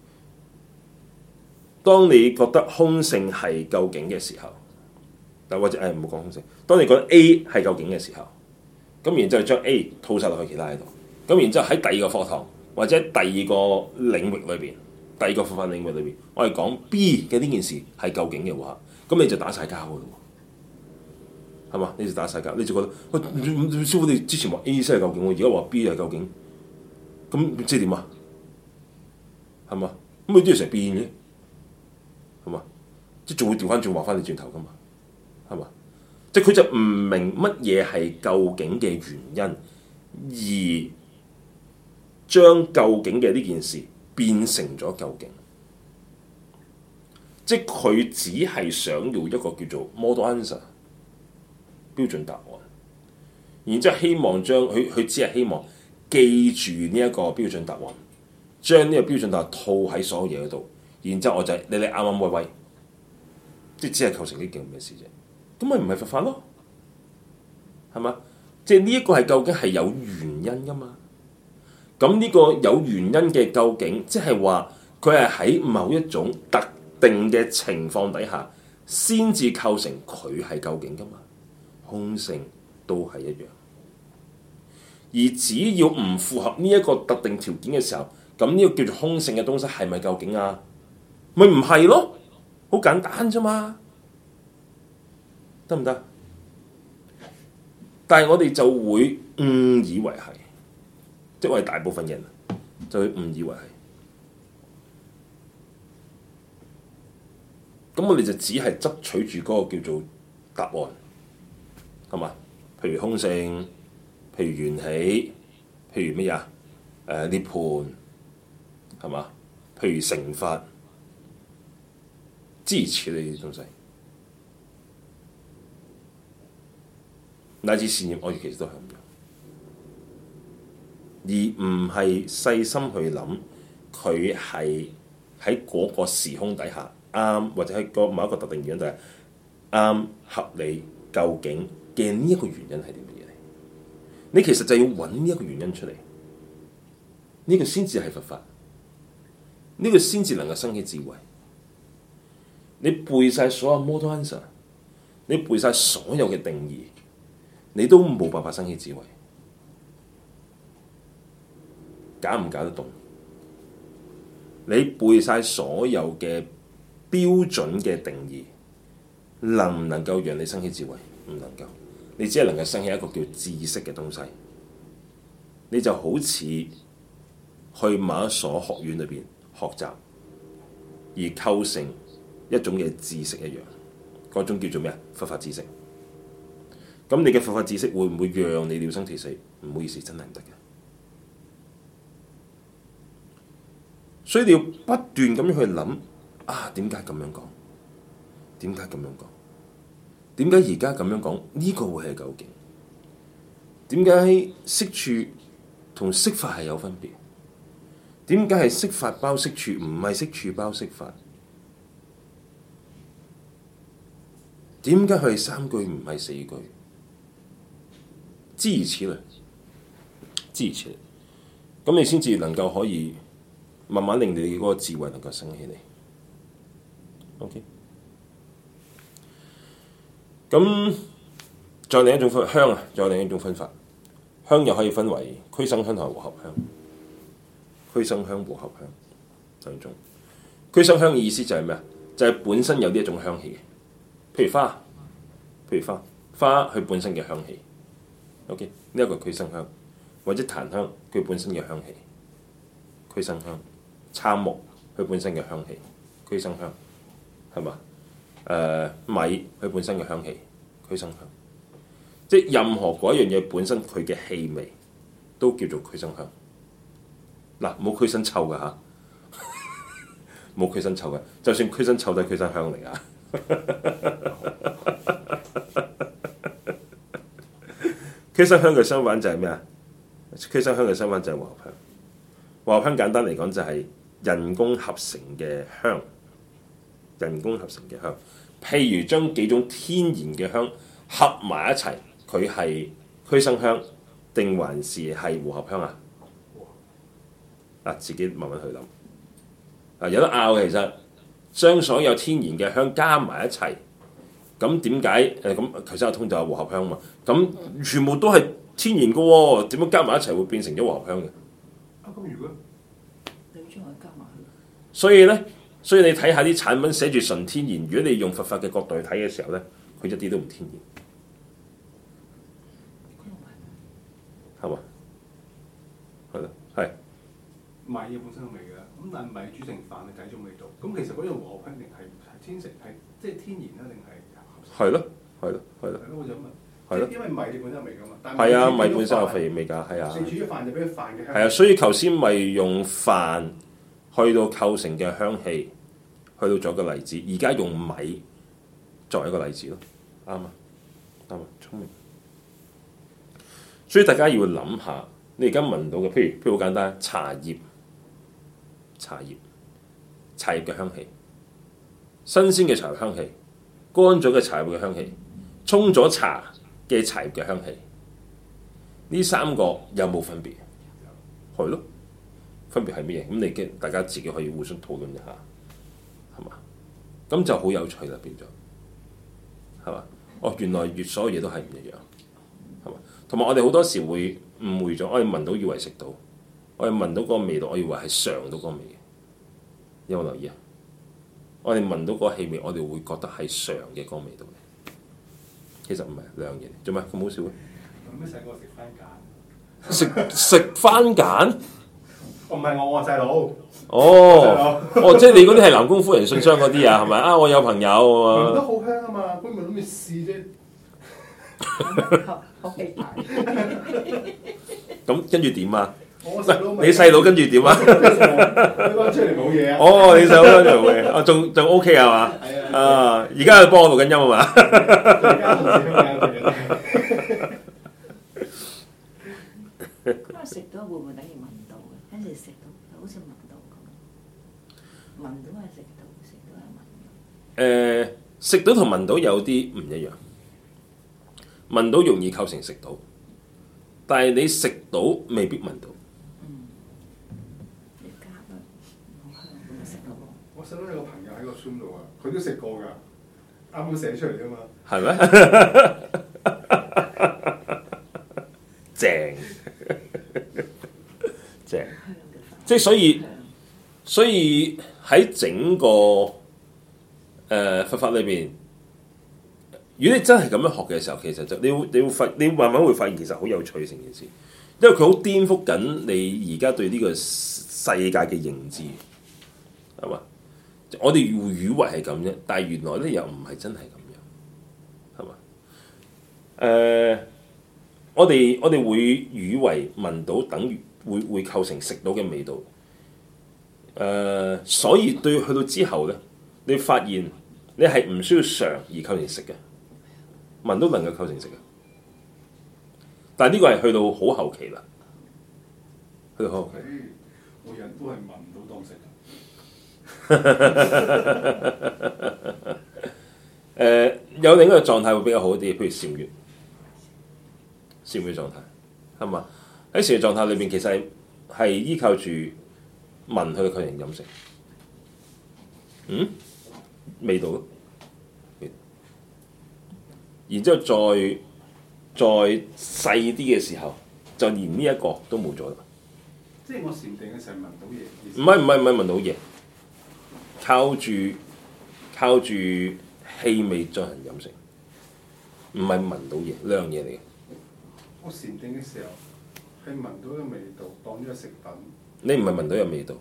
當你覺得空性係究竟嘅時候，嗱或者唔好講空性。當你覺得 A 係究竟嘅時候，咁然之後將 A 套晒落去其他喺度，咁然之後喺第二個課堂或者第二個領域裏邊，第二個佛法領域裏邊，我哋講 B 嘅呢件事係究竟嘅話，咁你就打晒交嘅咯，係嘛？你就打晒交，你就覺得喂，師傅你之前話 A 先係究竟，我而家話 B 係究竟，咁即係點啊？係嘛？咁佢啲嘢成日變嘅，係嘛？即係仲會調翻轉話翻你轉頭噶嘛？係嘛？即係佢就唔明乜嘢係究竟嘅原因，而將究竟嘅呢件事變成咗究竟，即係佢只係想要一個叫做 model answer 標準答案，然之後希望將佢只係希望記住呢一個標準答案，將呢個標準答案套喺所有嘢嗰度，然之後我就你啱啱威威，即係只係構成呢件咁嘅事啫，咁咪唔係佛法咯，係嘛？即係呢一個係究竟係有原因噶嘛？咁呢個有原因嘅究竟，即係話佢係喺某一種特定嘅情況底下，先至構成佢係究竟噶嘛？空性都係一樣。而只要唔符合呢一個特定條件嘅時候，咁呢個叫做空性嘅東西係咪究竟啊？咪唔係咯，好簡單啫嘛，得唔得？但係我哋就會誤以為係，即係我哋大部分人就會誤以為係。咁我哋就只係執取住嗰個叫做答案，係嘛？譬如空性，譬如緣起，譬如乜嘢涅槃，係嘛？譬如成法，諸如此類呢啲東西，乃至善業惡業其實都係咁樣，而唔係細心去諗佢係喺嗰個時空底下啱，或者喺某一個特定原因底下啱合理究竟嘅呢一個原因係啲乜嘢嚟？你其實就要揾呢一個原因出嚟，呢個先至係佛法，呢個先至能夠生起智慧。你背晒所有 model answer， 你背晒所有嘅定義，你都冇辦法生起智慧，搞唔搞得動？你背晒所有嘅標準嘅定義，能唔能夠讓你生起智慧？唔能夠，你只係能夠生起一個叫知識嘅東西。你就好似去某一所學院裏邊學習，而構成一種嘅知識一樣，嗰種叫做咩啊？佛法知識。咁你嘅佛法知識會唔會讓你了生脫死？唔好意思，真係唔得嘅。所以你要不斷咁樣去諗啊，點解咁樣講？點解咁樣講？點解而家咁樣講？呢個會係究竟？點解識處同識法係有分別？點解係識法包識處，唔係識處包識法？點解佢係3句唔係4句？諸如此類，諸如此類，咁你先至能夠可以慢慢令你嗰個智慧能夠升起嚟。OK， 咁再另一種香啊，再另一種分法，香又可以分為俱生香同埋和合香。俱生香、和合香兩種。俱生香嘅意思就係咩啊？就係本身有呢一種香氣嘅，譬如花佢本身嘅香氣。OK， 呢一個俱生香，或者檀香佢本身嘅香氣，俱生香；杉木佢本身嘅香氣，俱生香，係嘛？米佢本身嘅香氣，俱生香。即係任何嗰一樣嘢本身佢嘅氣味都叫做俱生香。嗱，冇俱生臭㗎嚇，冇俱生臭嘅，就算俱生臭都係俱生香嚟㗎。俱生香嘅相反就係咩啊？俱生香嘅相反就係和合香。和合香簡單嚟講就係人工合成嘅香，人工合成嘅香。譬如將幾種天然嘅香合埋一齊，佢係俱生香定還是係和合香啊？自己慢慢去諗。有得拗嘅，其實將所有天然嘅香加埋一齊。咁點解咁頭先阿通就係和合香嘛？咁全部都係天然嘅喎，點樣加埋一齊會變成咗和合香嘅？ 咁如果你將佢加埋去， 所以你睇下啲產品寫住純天然，如果你用佛法嘅角度去睇嘅時候咧，佢一啲都唔天然，係嘛？係咯，係米嘅本身有味嘅，咁但係米煮成飯係第一種味道。咁其實嗰樣和合香定係天成係即係天然啦，定係？ 係咯，係咯，係咯。 我就問， 係咯， 因為米你本身有味㗎嘛。 係啊，米本身有肥味㗎，係啊。 你煮咗飯就俾啲飯嘅香。 係啊，所以頭先咪用飯去到構成嘅香氣，去到做一個例子。而家用米作為一個例子咯，啱啊，啱啊，聰明。所以大家要諗下，你而家聞到嘅，譬如好簡單，茶葉嘅香氣，新鮮嘅茶葉香氣。乾咗嘅茶葉嘅香氣，沖咗茶嘅茶葉嘅香氣，呢3個有冇分別？係咯，分別係咩嘢？咁你大家自己可以互相討論一下，係嘛？咁就好有趣啦，變咗，係嘛？哦，原來所有嘢都係唔一樣，係同埋我哋好多時會誤會咗，我哋聞到以為食到，我哋聞到嗰個味道，我以為係嘗到嗰個味嘅。有冇留意啊？我哋聞到嗰個氣味，我哋會覺得係嘗嘅嗰個味道嘅。其實唔係兩樣嘢，做咩咁好笑嘅？ 咁咩細個食番梘？ 食番梘？ 唔係我細佬。 即係你嗰啲係南宮夫人信箱嗰啲啊，係咪啊？我有朋友聞得好香啊嘛，佢咪諗住試啫。 好氣大。 咁跟住點啊？ 你細佬跟住點啊？ 佢講出嚟冇嘢啊。 你細佬跟住冇嘢，仲 OK 係嘛？ 係啊，而家幫我錄緊音啊嘛。 咁食到會唔會等於聞到嘅？跟住食到好似聞到咁，聞到係食到，食到係聞到。 食到同聞到有啲唔一樣。聞到容易構成食到，但係你食到未必聞到。 你加啊，好香，咁食到喎。 我細佬有個朋友喺個 Zoom 度啊，佢都食過㗎，啱啱寫出嚟㗎嘛。係咩？正，正，即係所以喺整個佛法裏邊。如果你真係咁樣學嘅時候，其實就你慢慢會發現其實好有趣成件事，因為佢好顛覆緊你而家對呢個世界嘅認知，係嘛？我哋以為係咁啫，但係原來咧又唔係真係咁樣，係嘛？我哋會以為聞到等於會構成食到嘅味道，所以對去到之後咧，你發現你係唔需要嘗而構成食嘅。聞都能夠構成食嘅，但係呢個係去到好後期啦，去到好後期。 每人都係聞到當食。 有另一個狀態會比較好啲，譬如禪悅狀態，係嘛？喺禪悅狀態裏邊，其實係依靠住聞去到構成飲食，味道咯。然之後再細啲嘅時候，就連呢一個都冇咗啦。 即係我禪定嘅時候聞到嘢。 唔係聞到嘢，靠住氣味進行飲食，唔係聞到嘢，兩樣嘢嚟嘅。 我禪定嘅時候係聞到嘅味道，當咗個食品。 你唔係聞到有味道，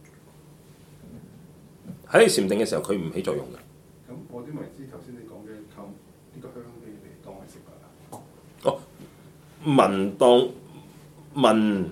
喺你禪定嘅時候，佢唔起作用嘅。 咁我點為之頭先你講嘅靠呢個香味嚟當係食品啊？ 聞當聞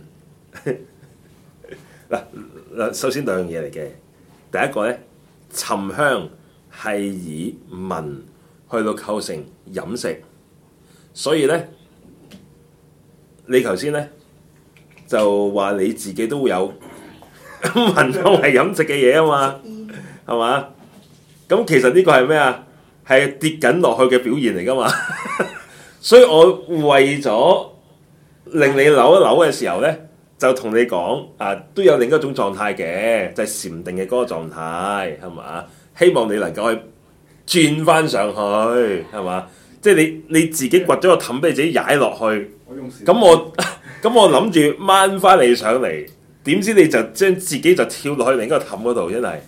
嗱，首先兩樣嘢嚟嘅。第一個咧，沉香係以聞去到構成飲食，所以咧，你頭先咧就話你自己都會有聞當係飲食嘅嘢啊嘛，係嘛？咁其實呢個係咩啊？係跌緊落去嘅表現嚟㗎嘛，所以我為咗令你扭一扭嘅時候咧，就同你講啊，都有另一種狀態嘅，就係禪定嘅嗰個狀態，係嘛？希望你能夠去轉翻上去，係嘛？即係你自己掘咗個氹俾你自己踩落去，咁我諗住掹翻你上嚟，點知你就將自己就跳落去另一個氹嗰度，真係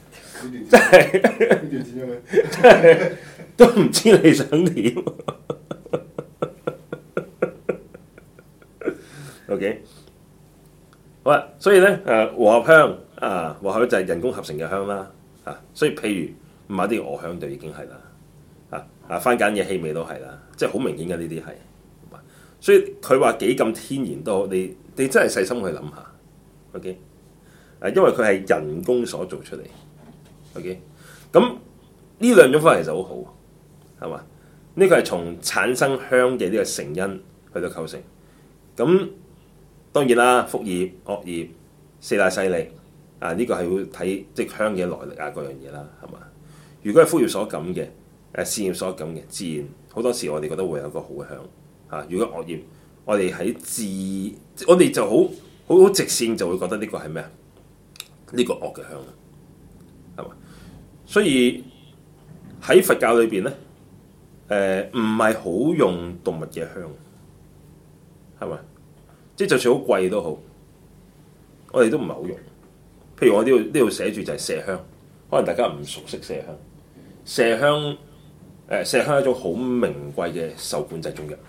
都唔知你想點。OK， 好啦，所以咧和合香和合就係人工合成嘅香啦，所以譬如買啲鵝香就已經係啦，番梘嘅氣味都係啦，即係好明顯嘅呢啲係。所以佢話幾咁天然都好，你真係細心去諗下 ，OK， 因為佢係人工所做出嚟 ，OK， 咁呢兩種方法其實好好，係嘛？呢個係從產生香嘅呢個成因去到構成，咁當然啦，福業、惡業、四大勢力呢個係會睇即係香嘅來歷啊，嗰樣嘢啦，係嘛？如果係福業所感嘅，善業所感嘅，自然好多時我哋覺得會有一個好香。如果惡業，我哋我哋就好直線就會覺得呢個係咩啊？呢個惡嘅香，係嘛？所以喺佛教裏邊咧，唔係好用動物嘅香， 係咪？即係就算好貴都好，我哋都唔係好用。譬如我呢度寫住就係麝香，可能大家唔熟悉麝香。麝香麝香係一種好名貴嘅受管制中藥。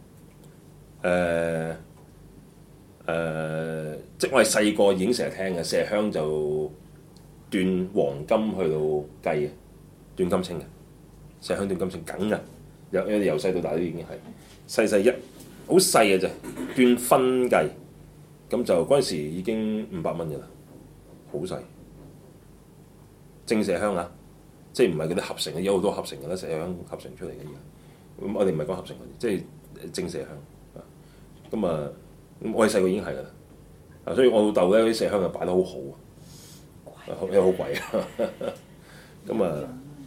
即係我哋細個已經成日聽嘅麝香就斷黃金去到計嘅，斷金清嘅麝香斷金清梗嘅，由細到大都已經係細一好細嘅啫，斷分計咁就嗰陣時已經500蚊嘅啦，好細。正麝香啊，即係唔係嗰啲合成嘅，有好多合成嘅啦，麝香合成出嚟嘅而家。咁我哋唔係講合成嗰啲，即係正麝香啊。咁啊，我哋細個已經係噶啦。啊，所以我老豆咧啲麝香就擺得好好啊，因為好貴啊。咁啊，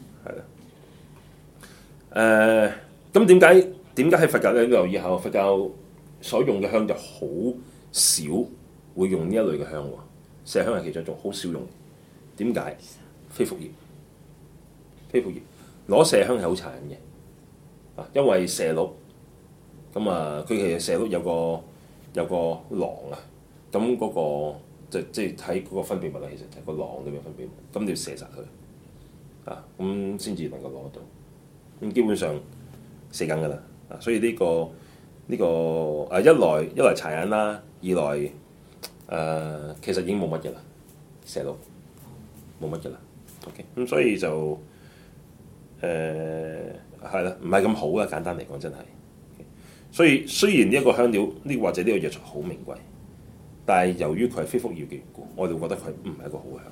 係啦。咁點解喺佛教咧？你留意下，佛教所用嘅香就好少會用呢一類嘅香喎。麝香係其中一種，好少用。點解？非福業，非福業攞麝香係好殘忍嘅啊，因為麝鹿咁啊，佢其實麝鹿有個囊啊，咁嗰個即係睇嗰個分泌物啊，其實就係個囊裏面分泌物，咁你要射殺佢啊，咁先至能夠攞到。咁基本上死緊㗎啦啊，所以呢個啊一來殘忍啦，二來其實已經冇乜嘅啦，麝鹿冇乜嘅啦。OK， 咁所以就係啦，唔係咁好啦。簡單嚟講，真係。所以雖然呢一個香料或者呢個藥材好名貴，但係由於佢係非福業嘅緣故，我哋會覺得佢唔係一個好香，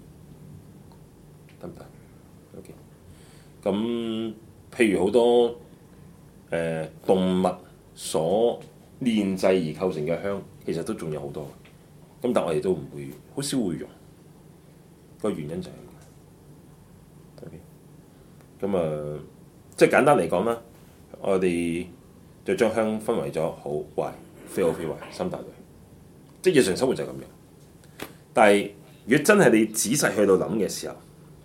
得唔得 ？OK， 咁譬如好多動物所煉製而構成嘅香，其實都仲有好多。咁但係我哋都唔會，好少會用。個原因就係咁啊，即係簡單嚟講啦，我哋就將香分為咗好壞、非好非壞三大類，即係日常生活就係咁樣。但係如果真係你仔細去到諗嘅時候，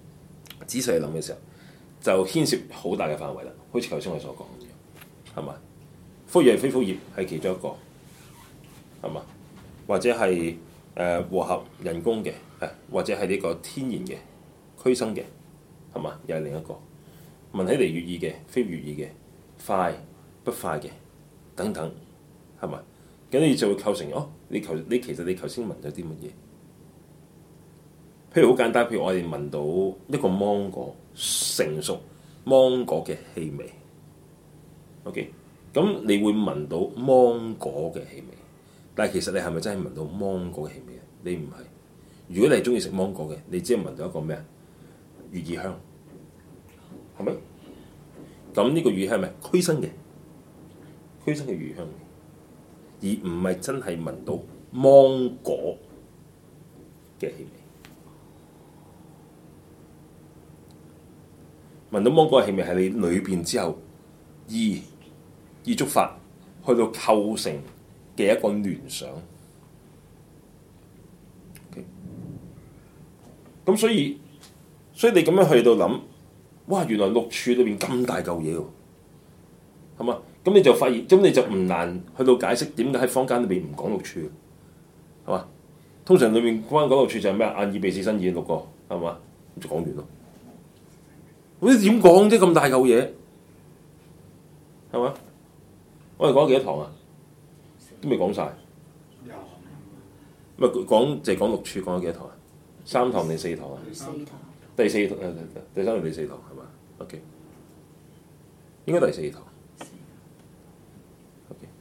就牽涉好大嘅範圍啦。好似頭先我所講咁樣，係嘛？福業、非福業係其中一個，係嘛？或者係和合人工嘅，或者係呢個天然嘅驅生嘅，係嘛？又係另一個。聞起嚟悅耳嘅，非悅耳嘅，快不快嘅，等等，係咪？咁你就會構成你其實你頭先聞咗啲乜嘢？譬如好簡單，譬如我哋聞到一個芒果成熟芒果嘅氣味 ，OK， 咁你會聞到芒果嘅氣味，但係其實你係咪真係聞到芒果嘅氣味啊？你唔係。如果你係中意食芒果嘅，你只係聞到一個咩啊？悅耳香。係咪？咁呢個乳香係咪驅生嘅乳香，而唔係真係聞到芒果嘅氣味。聞到芒果嘅氣味係你裏邊之後意觸發去到構成嘅一個聯想。咁所以你咁樣去到諗。哇！原來六柱裏邊咁大嚿嘢喎，係嘛？咁你就發現，咁你就唔難去到解釋點解喺坊間裏邊唔講六柱，係嘛？通常裏面關講六柱就係咩啊？眼耳鼻舌身意六個，係嘛？咁就講完咯。咁你點講啫？咁大嚿嘢，係嘛？我哋講幾多堂啊？都未講晒。咪講就係講六柱，講咗幾多堂啊？3堂定4堂啊？第四堂，第3堂、第4堂係嘛 ？OK， 應該第4堂。OK，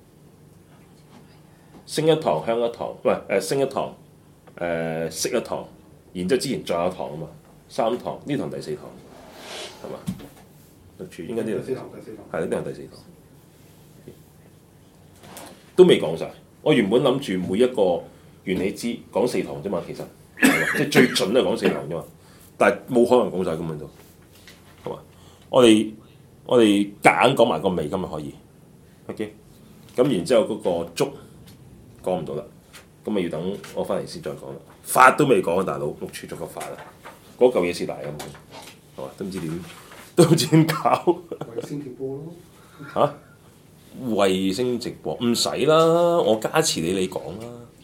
升一堂，香一堂，唔係升一堂，息一堂，然之後之前再有一堂啊嘛，3堂，呢堂第4堂係嘛？六柱應該呢度第4堂，係呢堂第4堂，都未講晒。我原本諗住每一個緣起支講4堂啫嘛，其實即係最準係講4堂啫嘛。但係冇可能講晒咁樣做，係嘛？我哋夾硬講埋個尾今日可以 ，OK？ 咁然之後嗰個足講唔到啦，咁咪要等我翻嚟先再講啦。法都未講啊，大佬六柱足個法啦，嗰嚿嘢似大咁，係嘛？都唔知點搞。 先跳波咯嚇？ 衛星直播唔使啦，我加持你講啦。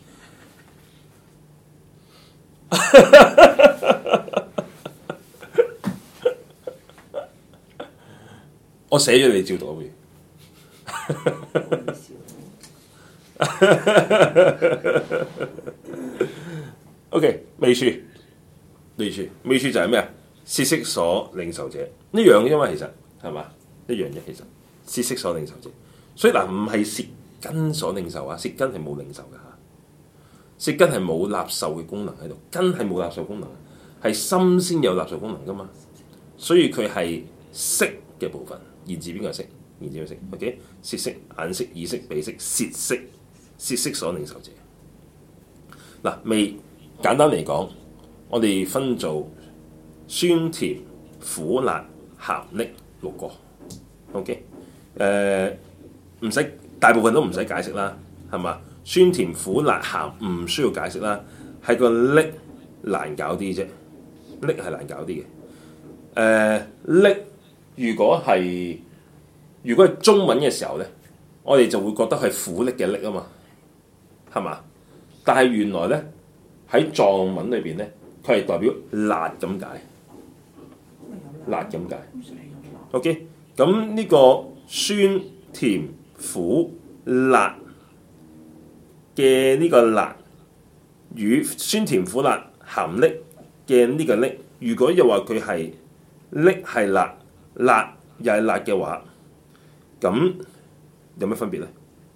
我寫咗你照讀會。OK， 未處就係咩啊？涉色所領受者呢樣嘅，因為其實係嘛一樣嘢，其實涉色所領受者，所以嗱唔係舌根所領受啊，舌根係冇領受㗎嚇，舌根係冇納受嘅功能喺度，根係冇納受功能，係心先有納受功能㗎嘛，所以佢係色嘅部分，言字邊個係色？言字邊個色 ？OK， 舌色、眼色、耳色、鼻色、舌色，涉色所領受者。嗱，未簡單嚟講，我哋分做酸甜苦辣鹹溺六個。OK， 唔使大部分都唔使解釋啦，係嘛？酸甜苦辣鹹唔需要解釋啦，係個溺難搞啲啫，溺係難搞啲嘅。溺如果係中文嘅時候咧，我哋就會覺得係苦溺嘅溺啊嘛，係嘛？但係原來咧喺藏文裏邊咧，佢係代表辣咁解，辣咁解。OK， 咁呢個酸甜苦辣嘅呢個辣與酸甜苦辣鹹溺嘅呢個溺，如果又話佢係溺係辣，辣又係辣嘅話，咁有咩分別咧？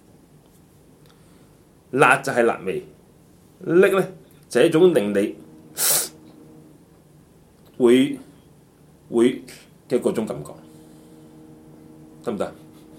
辣就係辣味，溺咧就係一種令你會嘅嗰種感覺，得唔得？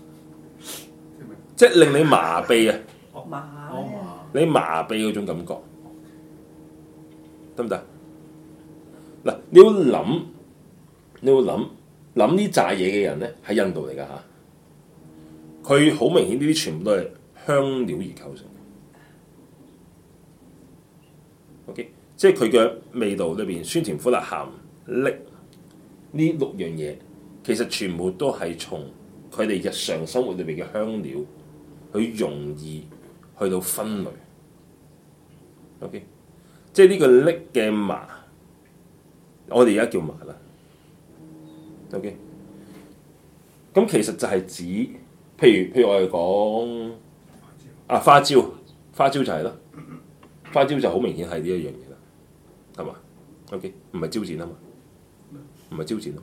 即係令你麻痹啊！你麻痹嗰種感覺，得唔得？嗱，你要諗呢扎嘢嘅人咧，喺印度嚟㗎嚇，佢好明顯呢啲全部都係香料而構成。OK， 即係佢嘅味道裏邊酸甜苦辣鹹溺呢六樣嘢，其實全部都係從佢哋日常生活裏邊嘅香料去容易去到分類。OK， 即係呢個溺嘅麻，我哋而家叫麻啦。OK， 咁其實就係指，譬如我哋講花椒就係啦。花椒就好明顯係呢一樣嘢啦，係嘛 ？OK， 唔係招展啊嘛，唔係招展啊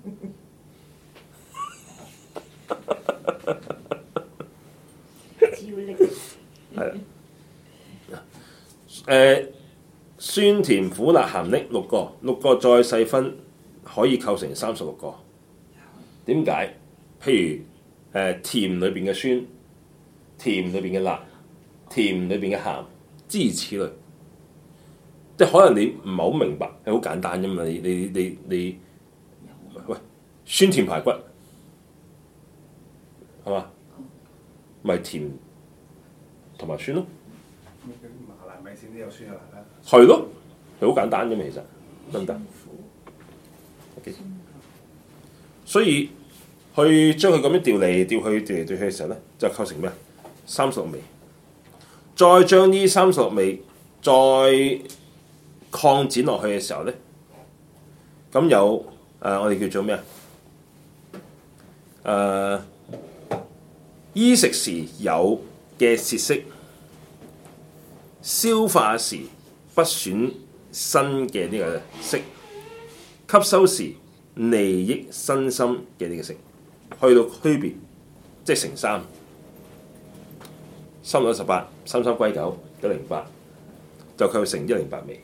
嘛。係啦。酸甜苦辣鹹溺六個再細分可以構成36個。點解？譬如甜裏邊嘅酸，甜裏邊嘅辣，甜裏邊嘅鹹。諸如此類，即係可能你唔係好明白，係好簡單啫嘛。你喂酸甜排骨係嘛？咪甜同埋酸咯。 麻辣米線都有酸有辣啦。 係咯，係好簡單啫嘛，其實得唔得？OK， 所以去將佢咁樣調嚟調去嘅時候咧，就構成咩？36味。再將呢36味再擴展落去嘅時候咧，咁有我哋叫做咩啊？衣食時有嘅舌色，消化時不損身嘅呢個色，吸收時利益身心嘅呢個色，去到區別，即係乘3。3六18，33歸9，108，就構成108味。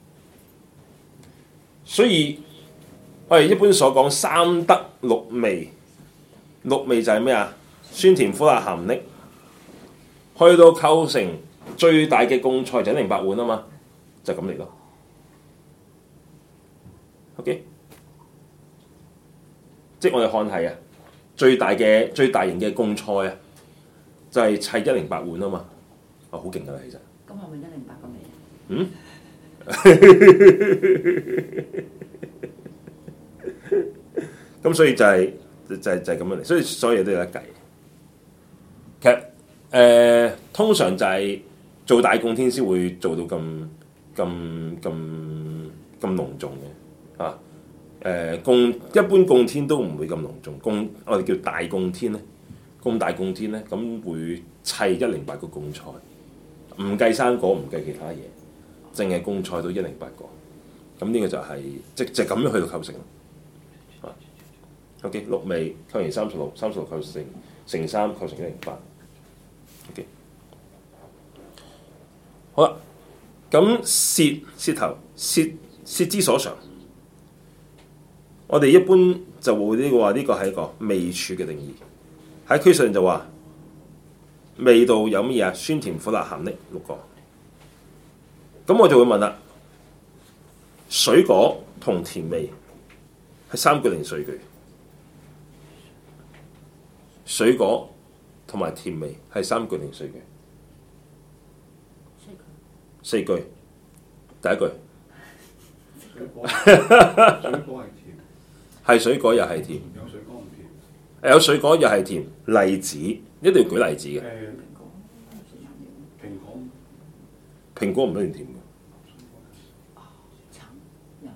所以我哋一般所講三得六味，六味就係咩啊？酸甜苦辣鹹溺，去到構成最大嘅共菜就108碗啊嘛，就咁嚟咯。OK， 即係我哋看係啊，最大型嘅共菜啊！就係砌108碗啊嘛，好勁噶啦，其實。 咁係咪108個味啊？ 嗯。咁所以就係咁樣嚟，所以所有嘢都有得計。 其實通常就係做大供天先會做到咁隆重嘅啊。一般供天都唔會咁隆重，我哋叫大供天咧，供大供天咧，咁會砌108個供菜，唔計生果，唔計其他嘢，淨係供菜都108個。咁呢個就係即咁樣去到構成啊。OK， 6味構成36，36構成3構成108。OK， 好啦，咁舌頭舌之所常。我哋一般就會呢個話，呢個係一個味處嘅定義。喺區上就話味道有乜嘢啊？酸甜苦辣鹹膩6個。咁我就會問啦，水果同甜味係3句定4句？水果同埋甜味係3句定4句？4句。第一句。 水果係甜。 係水果又係甜， 有水果唔甜。 有水果又係甜。例子一定要舉例子嘅。蘋果唔一定甜嘅。 橙又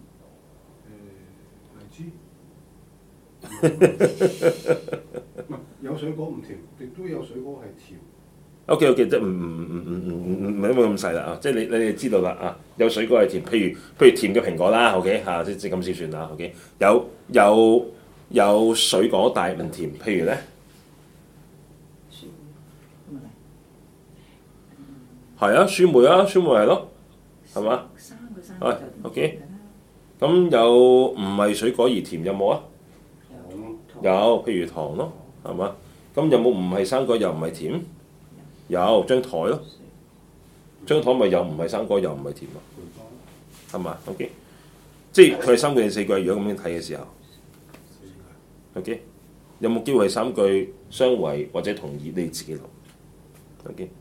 酸。 荔枝。唔係有水果唔甜，亦都有水果係甜。 OK， 即係唔係咁細啦啊！即係你哋知道啦啊！有水果係甜，譬如甜嘅蘋果啦，OK 嚇，即咁先算啦，OK。有水果但係唔甜，譬如咧，係啊，酸梅啊，酸梅係咯，係嘛？係 OK。咁有唔係水果而甜有冇啊？有，譬如糖咯，係嘛？咁有冇唔係生果又唔係甜？有張台咯，張台咪又唔係生果又唔係甜咯，係嘛 ？OK， 即係佢係3句定4句？如果咁樣睇嘅時候 ，OK， 有冇機會係3句相違或者同意？你自己諗 ，OK。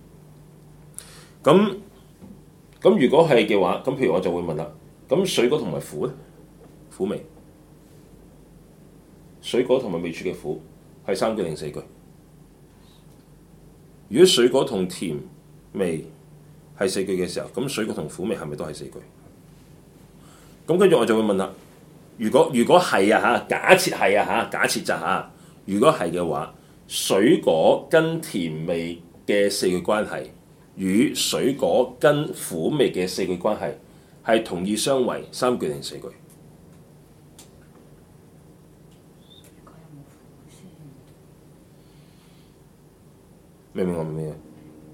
咁如果係嘅話，咁譬如我就會問啦，咁水果同埋苦咧，苦味，水果同埋味處嘅苦係3句定4句？如果水果同甜味係4句嘅時候，咁水果同苦味係咪都係4句？咁跟住我就會問啦，如果係啊嚇，假設係啊嚇，假設就嚇，如果係嘅話，水果跟甜味嘅4句關係，與水果跟苦味嘅4句關係，係同意相違3句定4句？明唔明我明咩啊？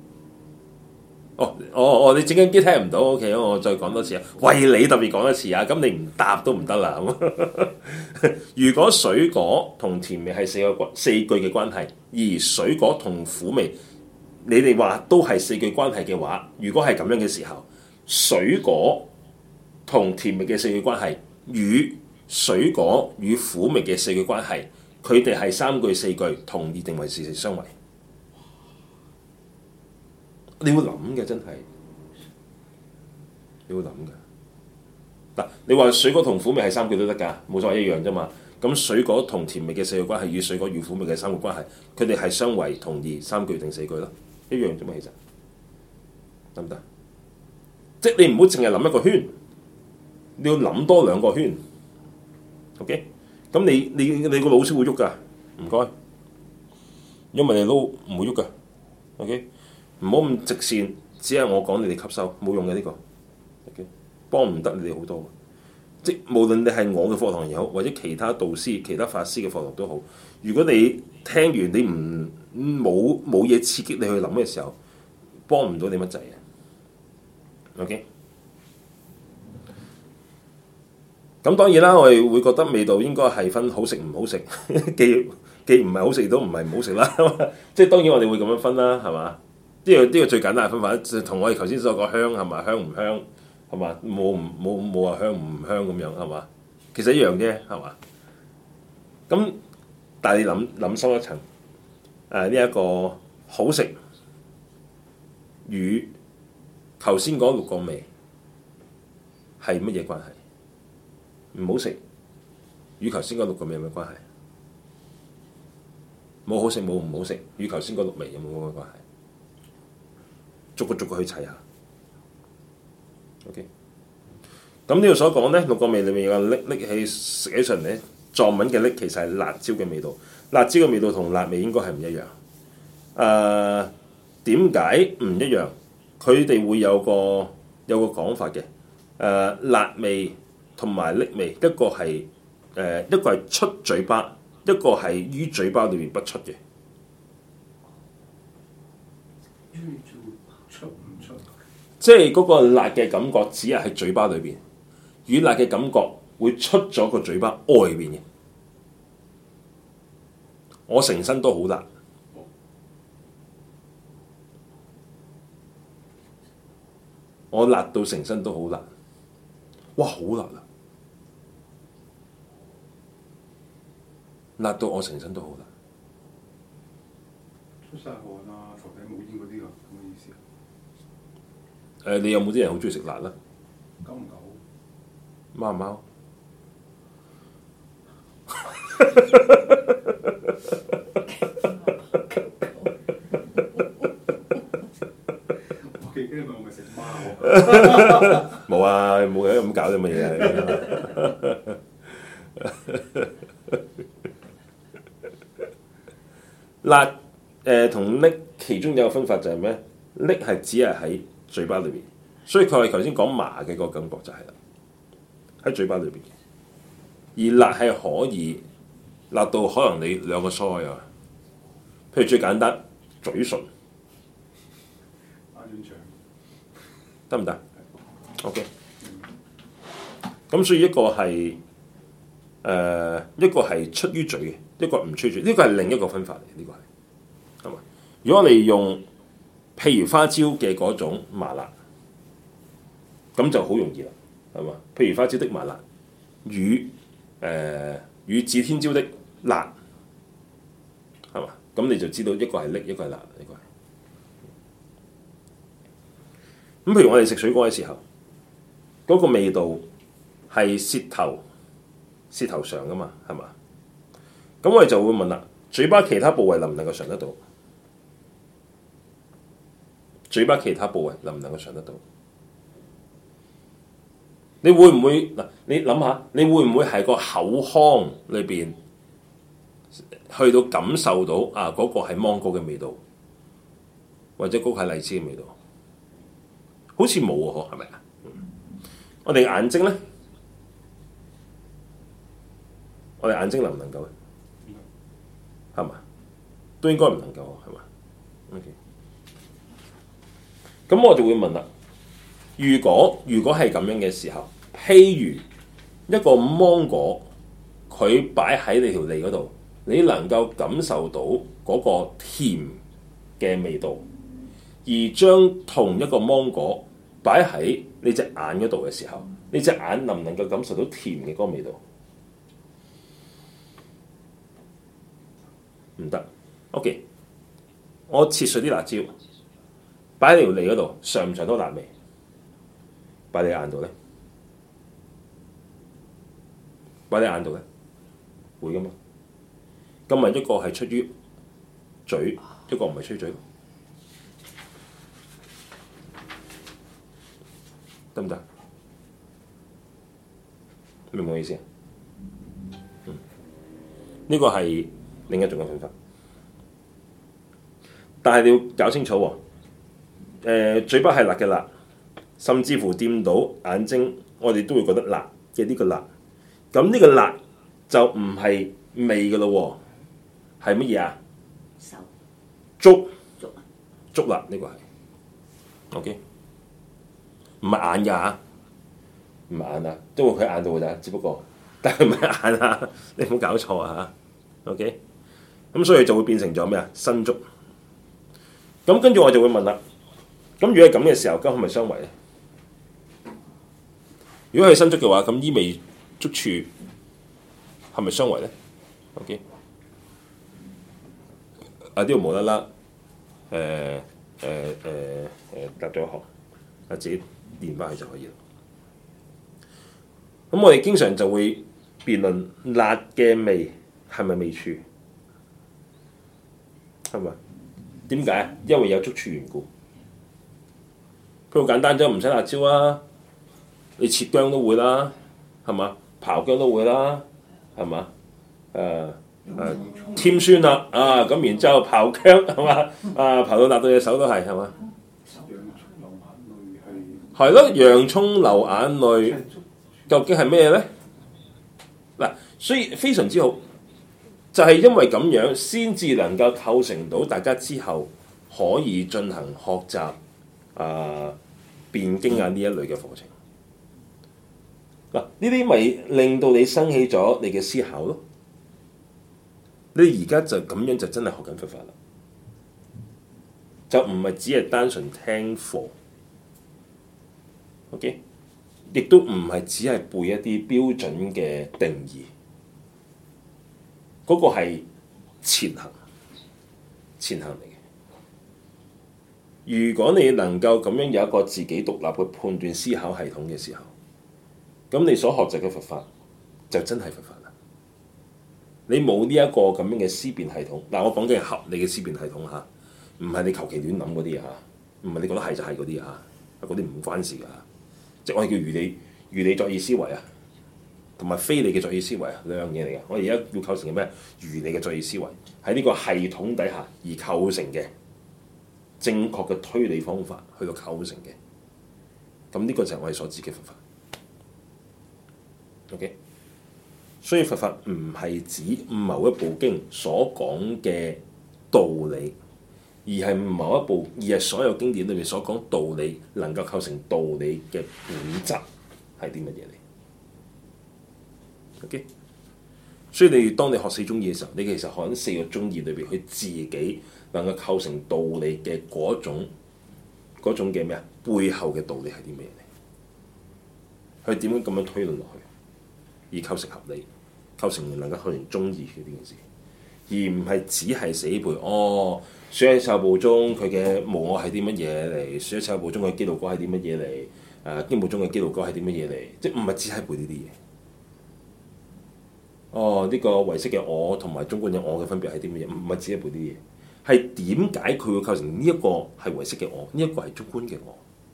你整緊機聽唔到 ，OK， 我再講多次啊，為你特別講一次啊，咁你唔答都唔得啦。如果水果同甜味係4句嘅關係，而水果同苦味，你哋話都係4句關係嘅話，如果係咁樣嘅時候，水果同甜味嘅4句關係，與水果與苦味嘅4句關係，佢哋係3句4句同意定為事實相違？你會諗嘅，真係你會諗嘅。嗱，你話水果同苦味係3句都得㗎，冇錯，一樣啫嘛。咁水果同甜味嘅4句關係，與水果與苦味嘅3句關係，佢哋係相違同意3句定4句咯，一樣啫嘛，其實得唔得？即係你唔好淨係諗一個圈，你要諗多2個圈。OK， 咁你個腦先會喐㗎，唔該。因為你腦唔會喐㗎。OK。唔好咁直線，只係我講你哋吸收，冇用嘅呢個，OK， 幫唔得你哋好多。即無論你係我嘅課堂又好，或者其他導師、其他法師嘅課堂都好，如果你聽完你冇嘢刺激你去諗嘅時候，幫唔到你乜滯嘅。OK， 咁當然啦，我哋會覺得味道應該係分好食唔好食，既唔係好食都唔係唔好食啦。即係當然我哋會咁樣分啦，係嘛？呢個最簡單嘅分法，就同我哋頭先所講香係嘛，香唔香係嘛，冇話香唔香咁樣係嘛，其實一樣啫係嘛。咁但係你諗深一層，呢一個好食與頭先嗰6個味係乜嘢關係？唔好食與頭先嗰6個味有咩關係？ 冇好食冇唔好食，與頭先嗰六味有冇關係？逐個去砌下。OK。咁呢度所講咧，六個味裏面有拎起食起上嚟咧，藏文嘅拎其實係辣椒嘅味道，辣椒嘅味道同辣味應該係唔一樣。點解唔一樣？佢哋會有個講法嘅。辣味同埋拎味，一個係出嘴巴，一個係於嘴巴裏面不出嘅。 出唔出？ 即係嗰個辣嘅感覺只係喺嘴巴裏邊，與辣嘅感覺會出咗個嘴巴外邊嘅。我成身都好辣，我辣到成身都好辣，哇！好辣啊！辣到我成身都好辣。 出晒汗啊，頭頂冇煙嗰啲啊，咁嘅意思啊？ 你有冇啲人好中意食辣咧？ 夠唔夠？ 貓唔貓？ 我記得我咪食貓。 冇啊，冇嘅咁搞啲乜嘢辣同拎其中有一個分法就係咩？拎係只係喺嘴巴裏邊，所以佢係頭先講麻嘅個感覺就係啦，喺嘴巴裏邊。而辣係可以辣到可能你兩個腮啊，譬如最簡單嘴唇打軟腸得唔得 ？OK。咁所以一個係出於嘴嘅，一個唔出於嘴，呢個係另一個分法嚟，呢個係嘛？如果我哋用譬如花椒嘅嗰種麻辣，咁就好容易啦，係嘛？譬如花椒的麻辣與指天椒的辣，係嘛？咁你就知道一個係瀝，一個係辣，一個係。咁譬如我哋食水果嘅時候，嗰個味道係舌頭上噶嘛，係嘛？咁我哋就會問啦，嘴巴其他部位能唔能夠嘗得到？嘴巴其他部位能唔能夠嘗得到？你會唔會嗱？你諗下，你會唔會係個口腔裏邊去到感受到啊？嗰個係芒果嘅味道，或者嗰個係荔枝嘅味道？好似冇喎，係咪啊？我哋眼睛咧，我哋眼睛能唔能夠咧？係嘛？都應該唔能夠，係嘛 ？OK。咁我就會問啦，如果係咁樣嘅時候，譬如一個芒果，佢擺喺你條脷嗰度，你能夠感受到嗰個甜嘅味道，而將同一個芒果擺喺你隻眼嗰度嘅時候，你隻眼能唔能夠感受到甜嘅嗰個味道？唔得。OK，我切碎啲辣椒，擺喺條脷嗰度，嘗唔嘗到辣味？擺你眼度咧？擺你眼度咧？會噶嘛？咁咪一個係出於嘴，一個唔係出於嘴，得唔得？明唔明我意思啊？呢個係另一種嘅分法，但係你要搞清楚喎。嘴巴係辣嘅辣，甚至乎掂到眼睛，我哋都會覺得辣嘅呢個辣。咁呢個辣就唔係味嘅咯喎，係乜嘢啊？ 手觸辣呢個係 OK， 唔係眼㗎嚇，唔係眼啊，都會佢眼度㗎咋，只不過，但係唔係眼啊，你唔好搞錯啊嚇 OK。咁所以就會變成咗咩啊？身觸。咁跟住我就會問啦，咁如果係咁嘅時候，咁係咪相違咧？如果係身觸嘅話，咁依味觸處係咪相違咧 ？OK， 啊呢度無啦啦，搭咗一行，啊自己練翻去就可以啦。咁我哋經常就會辯論辣嘅味係咪味處？ 係咪？點解啊？因為有觸處緣故。佢好簡單啫，唔使辣椒啊！你切薑都會啦，係嘛？刨薑都會啦，係嘛？添酸啦啊！咁然之後刨薑係嘛？刨到辣到隻手都係嘛？係咯，洋葱流眼淚，究竟係咩咧？嗱，所以非常之好，就係因為咁樣先至能夠構成到大家之後可以進行學習辯經啊呢一類嘅課程。嗱，呢啲咪令到你生起咗你嘅思考咯。你而家就咁樣就真係學緊佛法啦，就唔係只係單純聽課，OK？ 亦都唔係只係背一啲標準嘅定義，嗰個係前行嚟嘅。如果你能夠咁樣有一個自己獨立嘅判斷思考系統嘅時候，咁你所學習嘅佛法就真係佛法啦。你冇呢一個咁樣嘅思辨系統，嗱，我講嘅係合理嘅思辨系統嚇，唔係你求其亂諗嗰啲嚇，唔係你覺得係就係嗰啲嚇，嗰啲唔關事㗎。即係我哋叫如理作意思維啊，同埋非理嘅作意思維啊，兩樣嘢嚟嘅。我哋而家要構成嘅咩？如理嘅作意思維喺呢個系統底下而構成嘅正確嘅推理方法去到構成嘅，咁呢個就係我哋所指嘅佛法。OK， 所以佛法唔係指某一部經所講嘅道理，而係所有經典裏面所講道理能夠構成道理嘅本質係啲乜嘢嚟？OK， 所以當你學四宗義嘅時候，你其實學緊四個宗義裏邊，佢自己能夠構成道理嘅嗰種嘅咩啊？背後嘅道理係啲咩嚟？佢點樣咁樣推論落去？而構成合理，構成能夠構成宗義嘅呢件事，而唔係只係死背哦。書喺受部中佢嘅無我係啲乜嘢嚟？書喺受部中嘅基路果係啲乜嘢嚟？經部中嘅基路果係啲乜嘢嚟？即係唔係只係背呢啲嘢？哦，呢個唯識嘅我同埋中觀嘅我嘅分別係啲乜嘢？唔係只係背呢啲嘢，係點解佢會構成呢一個係唯識嘅我，呢一個係中觀嘅我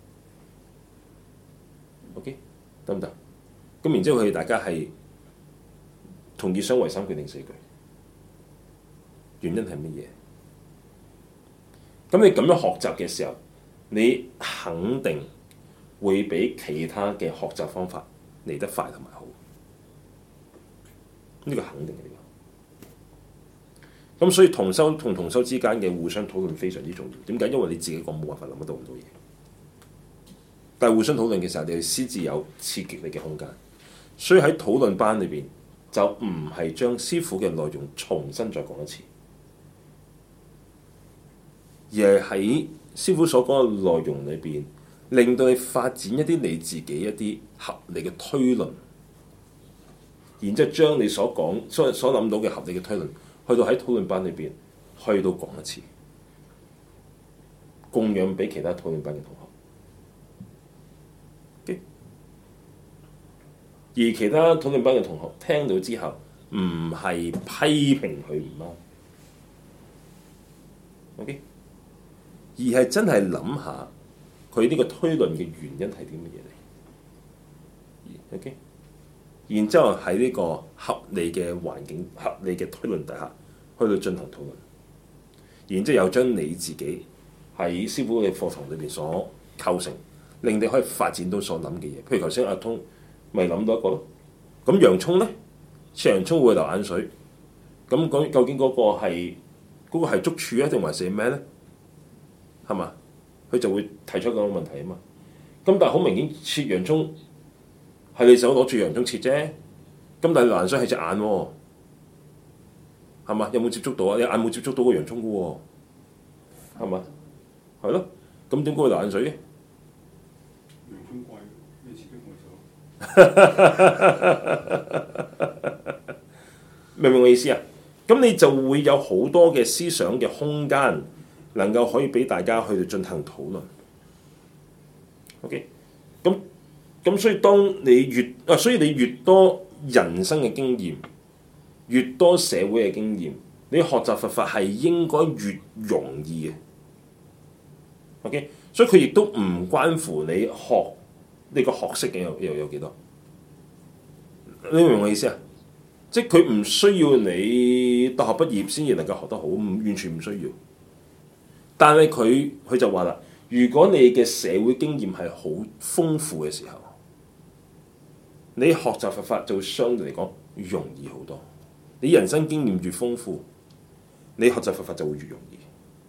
？OK， 得唔得？咁然之後佢哋大家係同意相違三句定四句，原因係乜嘢？咁你咁樣學習嘅時候，你肯定會比其他嘅學習方法嚟得快同埋好，呢個肯定嘅。咁所以同修同同修之間嘅互相討論非常之重要。點解？因為你自己講冇辦法諗得到咁多嘢，但係互相討論嘅時候，你哋先至有刺激你嘅空間。所以喺討論班裏邊，就唔係將師父嘅內容重新再講一次，而係喺師父所講嘅內容裏邊，令到你發展一啲你自己一啲合理嘅推論，然之後將你所講所諗到嘅合理嘅推論，去到喺討論班裏邊去到講一次，供養俾其他討論班嘅同學。而其他討論班嘅同學聽到之後，唔係批評佢唔啱，OK， 而係真係諗下佢呢個推論嘅原因係啲乜嘢嚟，OK， 然之後喺呢個合理嘅環境、合理嘅推論底下，去到進行討論，然之後又將你自己喺師父嘅課堂裏邊所構成，令你可以發展到所諗嘅嘢。譬如頭先阿通咪諗到一個咯，咁洋葱咧，切洋葱會流眼水，咁究竟嗰個係觸處啊，定還是咩咧？係嘛？佢就會提出嗰個問題啊嘛。咁但係好明顯，切洋葱係你手攞住洋葱切啫，咁但係流眼水係隻眼喎，係嘛？有冇接觸到啊？你眼冇接觸到個洋葱嘅喎，係嘛？係咯，咁點解會流眼水嘅？ 洋葱貴，你切咗我手。 明唔明我意思啊？咁你就會有好多嘅思想嘅空間，能夠可以俾大家去進行討論。OK， 咁所以當你所以你越多人生嘅經驗，越多社會嘅經驗， 你學習佛法係應該越容易嘅。OK， 所以佢亦都唔關乎你學呢個學識嘅又有幾多。你明唔明我意思啊？即係佢唔需要你大學畢業先至能夠學得好，完全唔需要。但係佢就話啦，如果你嘅社會經驗係好豐富嘅時候，你學習佛法就會相對嚟講容易好多。你人生經驗越豐富，你學習佛法就會越容易。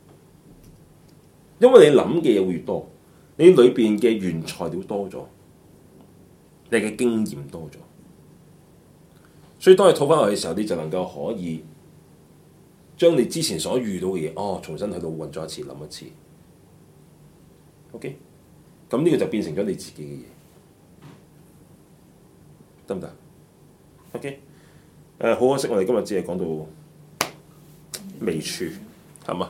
因為你諗嘅嘢會越多，你裏邊嘅原材料多咗，你嘅經驗多咗。所以當你套翻落去嘅時候，你就能夠可以將你之前所遇到嘅嘢，重新去到運作一次，諗一次。OK， 咁呢個就變成咗你自己嘅嘢，得唔得 ？OK， 好可惜，我哋今日只係講到微處，係嘛？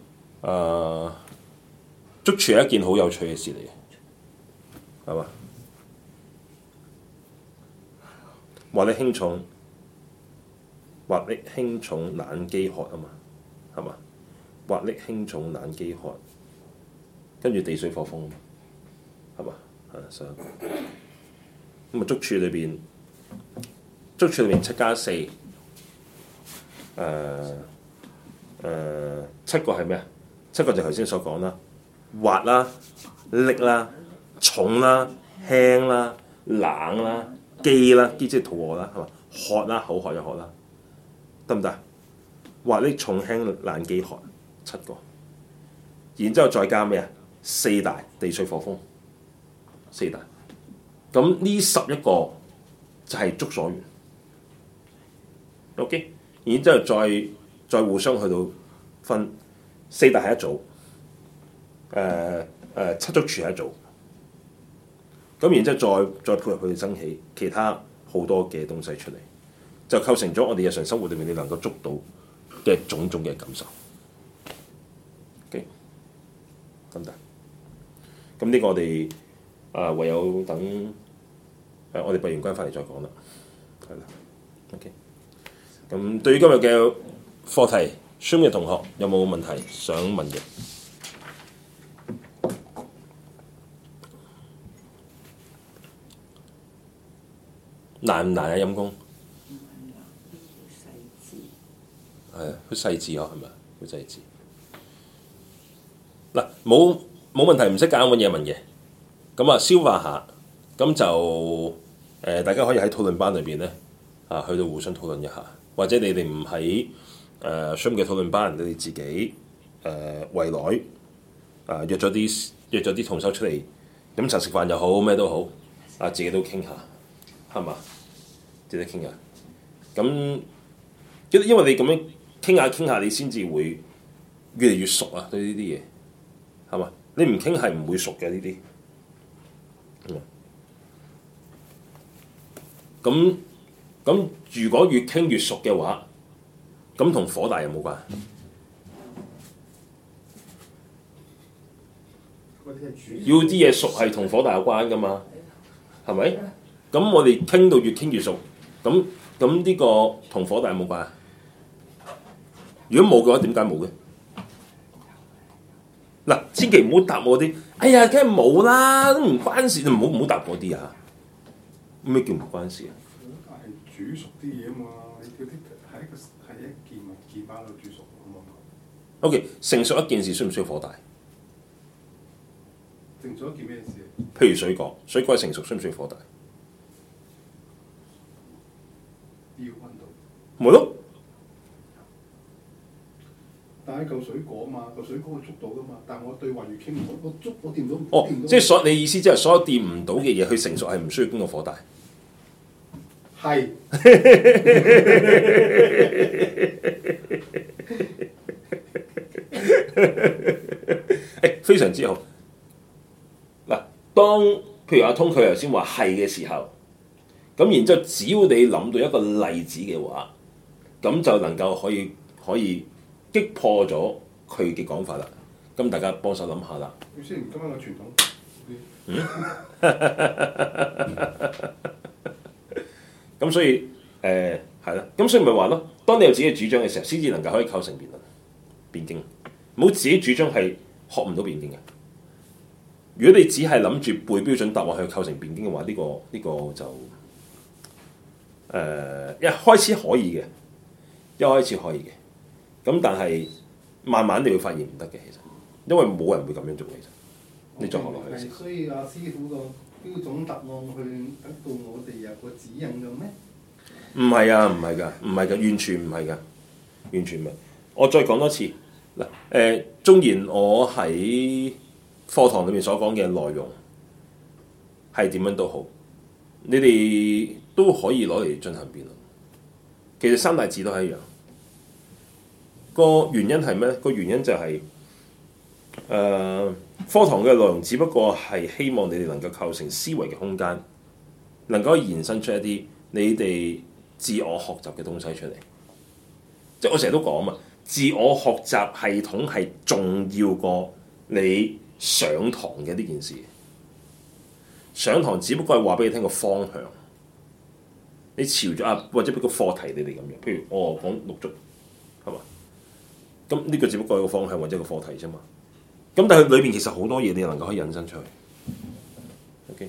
捉處係一件好有趣嘅事嚟嘅，係嘛？或力輕重，或力輕重難飢渴啊嘛，係嘛？或力輕重難飢渴，跟住地水火風啊嘛，係嘛？所以咁啊，捉處裏邊7加4，7個係咩啊？7個就頭先所講啦，滑啦、力啦、重啦、輕啦、冷啦。飢啦，飢即係肚餓啦，係嘛？渴啦，口渴又渴啦，得唔得？或力重輕難飢渴，7個，然之後再加咩啊？4大地水火風，4大，咁呢11個就係觸所緣。OK， 然之後再互相去到分，4大係一組，7觸處係一組。咁然之後再配合佢哋生起其他好多嘅東西出嚟，就構成咗我哋日常生活裏面你能夠捉到嘅種種嘅感受。OK， 得唔得？咁呢個我哋唯有等我哋閉完關翻嚟再講啦。係啦 ，OK。咁對於今日嘅課題 ，Zoom 嘅同學有冇問題想問嘅？難唔難啊？陰功係啊，好細緻嗬，係咪啊？好細緻。嗱，冇問題，唔識揀揾嘢問嘅。咁啊，消化下，咁就大家可以喺討論班裏邊咧去到互相討論一下，或者你哋唔喺Zoom嘅討論班，你哋自己圍內約咗啲同修出嚟飲茶食飯又好，咩都好，自己都傾下。係嘛？值得傾下。咁因為你咁樣傾下，你先至會越嚟越熟啊！對呢啲嘢係嘛？你唔傾係唔會熟嘅呢啲。咁如果越傾越熟嘅話，咁同火大有冇關？要啲嘢熟係同火大有關㗎嘛？係咪？咁我哋傾到越傾越熟，咁呢個同火大有冇關？如果冇嘅話，點解冇嘅？嗱，千祈唔好答我啲，哎呀，梗係冇啦，都唔關事，唔好答嗰啲啊！咩叫唔關事啊？ 但係煮熟啲嘢啊嘛，你嗰啲係一件物件擺喺度煮熟啊嘛。 OK， 成熟一件事需唔需要火大？ 成熟一件咩事？ 譬如水果係成熟需唔需要火大？ 要溫度。 咪咯。 但係嚿水果嘛，嚿水果我捉到噶嘛，但係我對話越傾，我掂到。 即係你意思即係所有掂唔到嘅嘢，佢成熟係唔需要經過火大。 係。 非常之好。嗱，當譬如阿通佢頭先話係嘅時候，咁然之後只要你諗到一個例子嘅話，咁就能夠可以擊破咗佢嘅講法啦。咁大家幫手諗下啦。 先今晚個傳統。咁所以係啦，咁所以咪話咯，當當你有自己嘅主張嘅時候，先至能夠可以構成辯論、辯經。冇自己主張係學唔到辯經嘅。如果你只係諗住背標準答案去構成辯經嘅話，呢個就一開始可以嘅，一開始可以嘅。咁但係慢慢你會發現唔得嘅，其實因為冇人會咁樣做嘅。其實你再學落去嘅時候， 所以阿師傅個標準答案去得到我哋有個指引嘅咩？ 唔係啊，唔係㗎，完全唔係㗎，完全唔係。我再講多次嗱，縱然我喺課堂裏面所講嘅內容係點樣都好，你哋都可以攞嚟進行辯論。其實三大字都係一樣。個原因係咩咧？個原因就係、課堂嘅內容只不過係希望你哋能夠構成思維嘅空間，能夠延伸出一啲你哋自我學習嘅東西出嚟。即係我成日都講啊嘛，自我學習系統係重要過你上堂嘅呢件事。上堂只不過係話俾你聽個方向，你朝咗啊，或者俾個課題你哋咁樣。譬如我講六足，係嘛？咁呢個只不過係一個方向或者一個課題啫嘛。咁但係裏邊其實好多嘢你能夠可以引申出去。OK，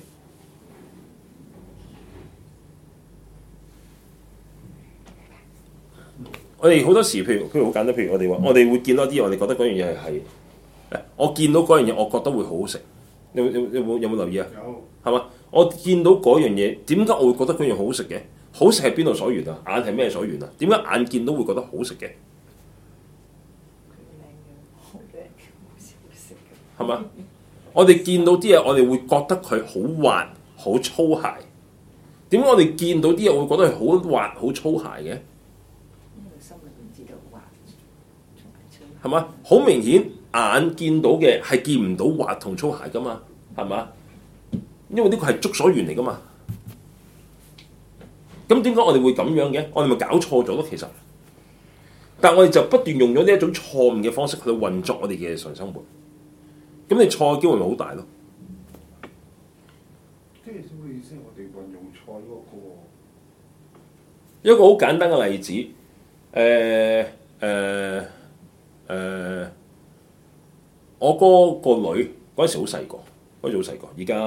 我哋好多時譬如好簡單，譬如我哋話，我哋會見到啲嘢，我哋覺得嗰樣嘢係我見到嗰樣嘢，我覺得會好好食。有冇留意啊？ 有係嘛？我見到嗰樣嘢，點解我會覺得嗰樣好好食嘅？好食係邊度所緣啊？眼係咩所緣啊？點解眼見到會覺得好食嘅？係嘛？我哋見到啲嘢，我哋會覺得佢好滑、好粗鞋。點解我哋見到啲嘢會覺得係好滑、好粗鞋嘅？ 因為心裏邊知道滑， 係嘛？好明顯，眼見到嘅係見唔到滑同粗鞋噶嘛？係嘛？因為呢個係觸所緣嚟噶嘛。咁點解我哋會咁樣嘅？我哋咪搞錯咗咯，其實。但係我哋就不斷用咗呢一種錯誤嘅方式去運作我哋嘅日常生活。咁你錯嘅機會咪好大咯？ 即係什麼意思？我哋運用錯嗰個一個好簡單嘅例子，我哥個女嗰陣時好細個，嗰陣時好細個，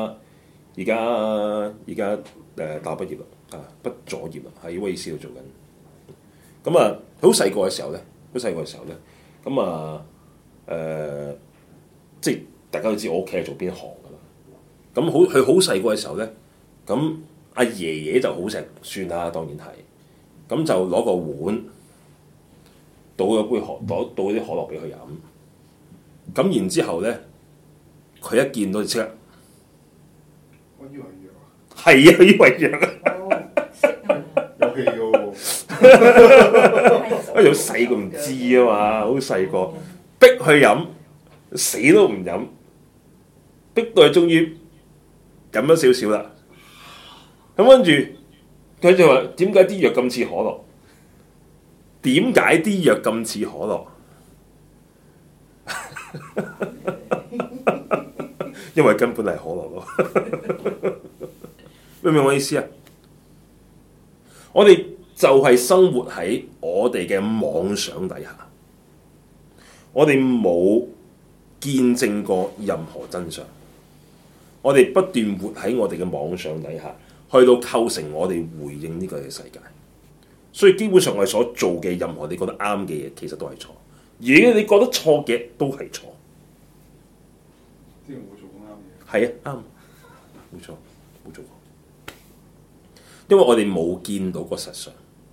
而家大學畢業啦，畢咗業啦，喺威爾斯度做緊。咁啊，佢好細個嘅時候咧，咁啊即係大家都知我屋企係做邊行㗎啦。咁佢好細個嘅時候咧，咁阿爺爺就好錫算啦，當然係。咁就攞個碗倒咗杯倒啲可樂俾佢飲。咁然之後咧，佢一見到就即刻， 我以為藥啊， 係啊，以為藥啊， 有氣嘅喎。 因為好細個唔知啊嘛，好細個逼佢飲，死都唔飲，逼到佢終於飲咗少少啦。咁跟住佢就話：點解啲藥咁似可樂？點解啲藥咁似可樂？因為根本係可樂咯。明唔明我意思啊？我哋就係生活喺我哋嘅妄想底下，我哋冇見證過任何真相，我哋不斷活喺我哋嘅妄想底下，去到構成我哋回應呢個嘅世界。所以基本上我哋所做嘅任何你覺得啱嘅嘢，其實都係錯；而你覺得錯嘅都係錯。 即係我做過啱嘢。 係啊，啱，冇錯，冇做過。因為我哋冇見到個實相。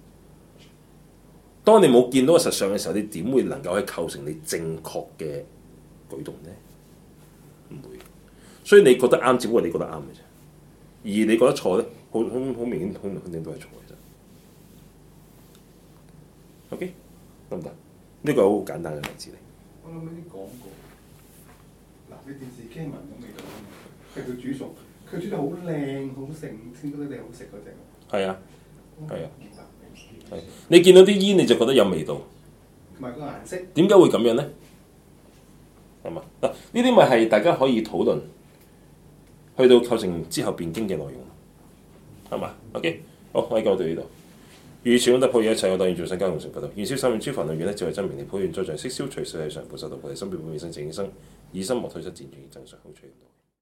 當你冇見到個實相嘅時候，你點會能夠去構成你正確嘅舉動呢？唔會。所以你覺得啱，只不過你覺得啱嘅啫。而你覺得錯咧，好明顯，肯定都係錯嘅啫。OK， 得唔得？呢個好簡單嘅例子嚟。 我諗起啲廣告，嗱，你電視傾聞咁味道啊嘛，係佢煮熟，佢煮得好靚好盛，先覺得你好食嗰隻。 係啊，係啊， 明白。 係。你見到啲煙你就覺得有味道， 同埋個顏色。 點解會咁樣咧？係嘛？嗱，呢啲咪係大家可以討論，去到構成之後辯經嘅內容，係嘛？OK，好，我而家講到呢度。 如此功德普現一切，我當現眾生皆共成佛道。願消三業諸煩惱，願得智慧真明利，普願罪障悉消除，世世常菩薩道。菩提心必本願生淨應生，以心莫退失，漸轉正常好趣。